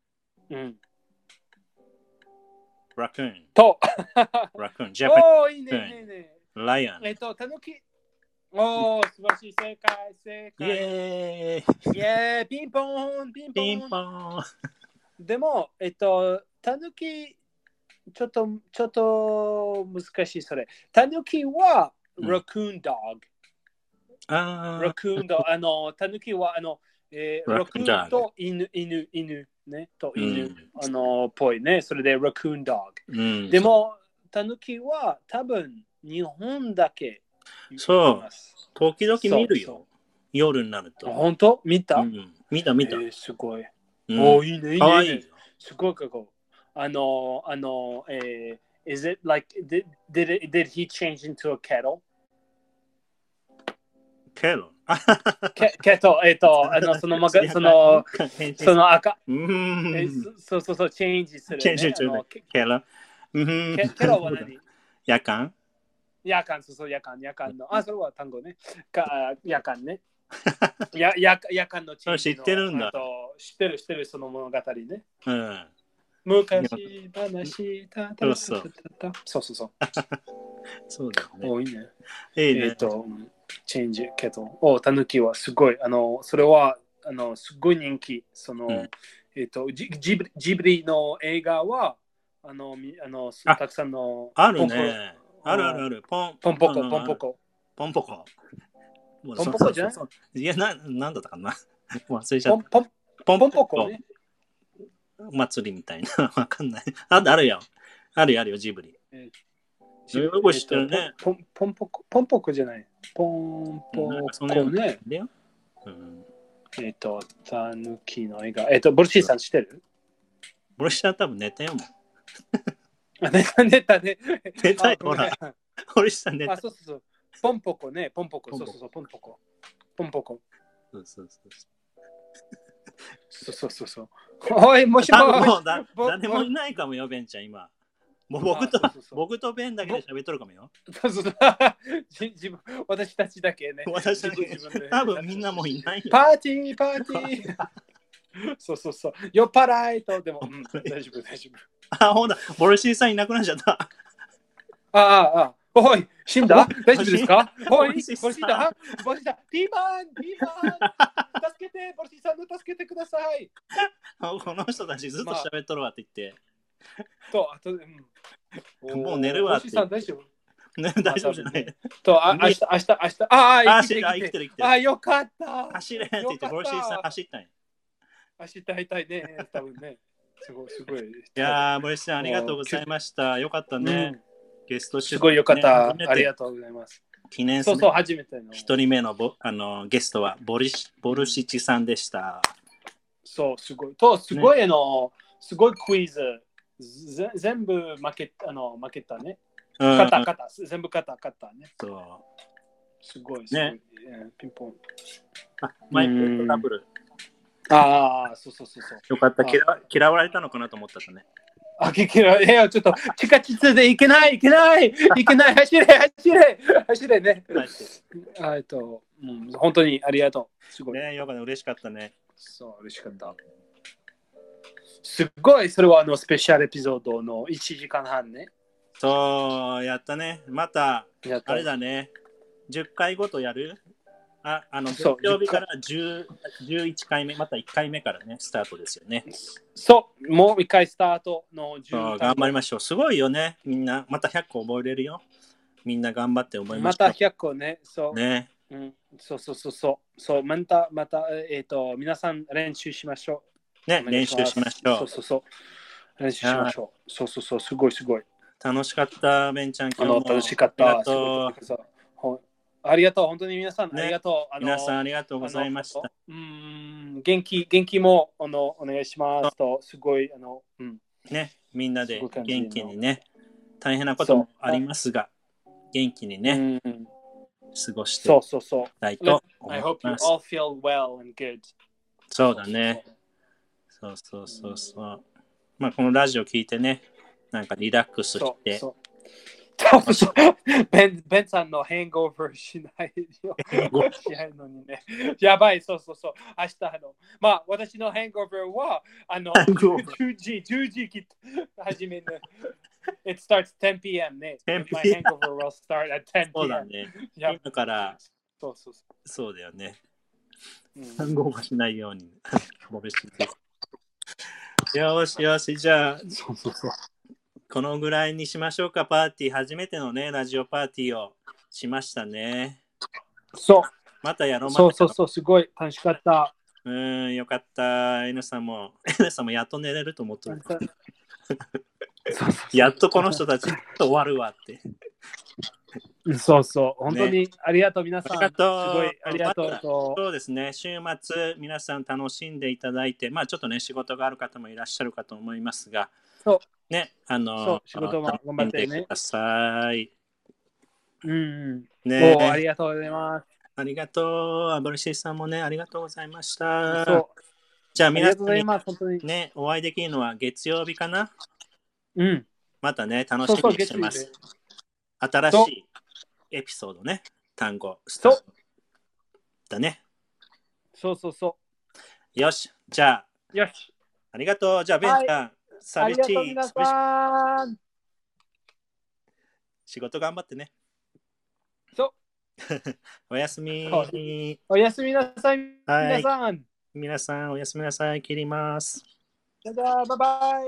ラクーンとジャパンいいねライオンタヌキ素晴らしい正解イエーイピンポンでもタヌキちょっと難しいそれタヌキはラクーンドッグラクーンドタヌキはラクーンと犬ねと犬ぽいねそれでラクーンドッグでもタヌキは多分日本だけそう時々見るよ夜になると本当見たすごいいいねかわいいすごいかこis it like did he change into a kettle? けど、その赤、そうそうそう、チェンジする、ね。 チェンジする。ケロ。 ケロは何？ 夜間そうそう、夜間の。それは単語ね。夜間ね。夜間のチェンジの。 知ってるんだ。 知ってる、その物語ね。 うん。 昔話そうそうそう。 そうだね。 多いね。 ね。 チェンジけど、タヌキはすごい、それは、すごい人気。ジブリの映画は、たくさんの。 あるね。ある。 ポンポコ。 ポンポコじゃない？いや、なんだったかな。忘れちゃった。 ポンポコね。 祭りみたいな。わかんない。あるよ、ジブリ。よく知ってるね。 ポンポコじゃない。ポンポコね。タヌキの映画。ボルシーさん知ってる？ ボルシーさん多分寝たよもん。 寝たね。 寝たよ、ほら。ボルシーさん寝た。 そう。ポンポコね。ポンポコ。そう、ポンポコ。そう。おい、もしも誰もいないかもよ、ベンちゃん、今。もう僕とベンだけで喋っとるかもよ。 私たちだけね。 多分みんなもういないよ。 パーティー。そう。酔っ払いと、でも、大丈夫。 ほら、ボルシーさんいなくなっちゃった。 おい、死んだ？大丈夫ですか？おい、ボルシーだ。ピーマン助けて、ボルシーさんの助けてください。 この人たちずっと喋っとるわって言って。 もう寝るわって。 大丈夫？ 大丈夫じゃない。 明日。 生きてる。 よかった。 走れって言って、ボルシーさん走ったんや。 走って会いたいね、多分ね。すごい。 いやー、ボルシーさんありがとうございました。よかったね。ゲストすごいよかった。ありがとうございます。 記念すべて。初めての。 一人目のゲストはボルシチさんでした。 そう、すごい。すごいクイズ。全部負けたね。全部勝ったね。 そう。 すごい。 ね。 ピンポン。 マイクトラブル。 そう。 よかった。嫌われたのかなと思ったね。 ちょっと地下鉄で行けない走れね。本当にありがとう。すごい。 ね、よかった、嬉しかったね。 そう、嬉しかった。すごい、それはスペシャルエピソードの1時間半ね。 そう、やったね。また、あれだね。10回ごとやる？月曜日から11回目、また1回目からね、スタートですよね。 そう、もう1回スタートの 10頑張りましょう。すごいよね。みんな、また100個覚えれるよ。みんな頑張って覚えましょう。 また100個ね。そう。 ね。 そう。また、皆さん練習しましょう。ね、練習しましょう。 そう。練習しましょう。そう。すごい。 楽しかった、ベンちゃん。今日も楽しかった。ありがとう。本当に皆さん、ありがとう。 皆さんありがとうございました。 元気もお願いしますと、すごいね、みんなで元気にね、大変なこともありますが、元気にね、過ごしていきたいと思います。そうだね。そう。まあこのラジオ聞いてね、なんかリラックスして。 ベンさんのハングオーバーしないよ。しないのにね。やばい、そう。明日まあ、私のハングオーバーは、10時始める。It starts 10 p.m. ね。My hangover will start at 10 p.m. そうだね。今から、そうだよね。ハングオーバーしないように。よし、じゃあ。 そう。 このぐらいにしましょうか、パーティー。初めてのね、ラジオパーティーをしましたね。 そう。 またやろう。 そう、すごい楽しかった。 よかった。N さんもやっと寝れると思ってる。やっとこの人たちと終わるわって。 そう、本当にありがとう、皆さん。すごいありがとう。 そうですね、週末、皆さん楽しんでいただいて、まあちょっとね、仕事がある方もいらっしゃるかと思いますが、ね、 仕事も頑張ってね。 ください。 ね、ありがとうございます。 ありがとう。アブルシーさんもね、ありがとうございました。 そう。 じゃあ、皆さんに本当にね、お会いできるのは月曜日かな。 うん。 またね、楽しみにしてます。新しいエピソードね、単語、スタートだね。 そうそうそう。 よし、じゃあ、 よし。 ありがとう。じゃあ、ベンちゃん、 ありがとう、皆さん。 仕事頑張ってね。 そう。 おやすみ。 おやすみなさい、皆さん。 皆さん、おやすみなさい。切ります。 バイバイ。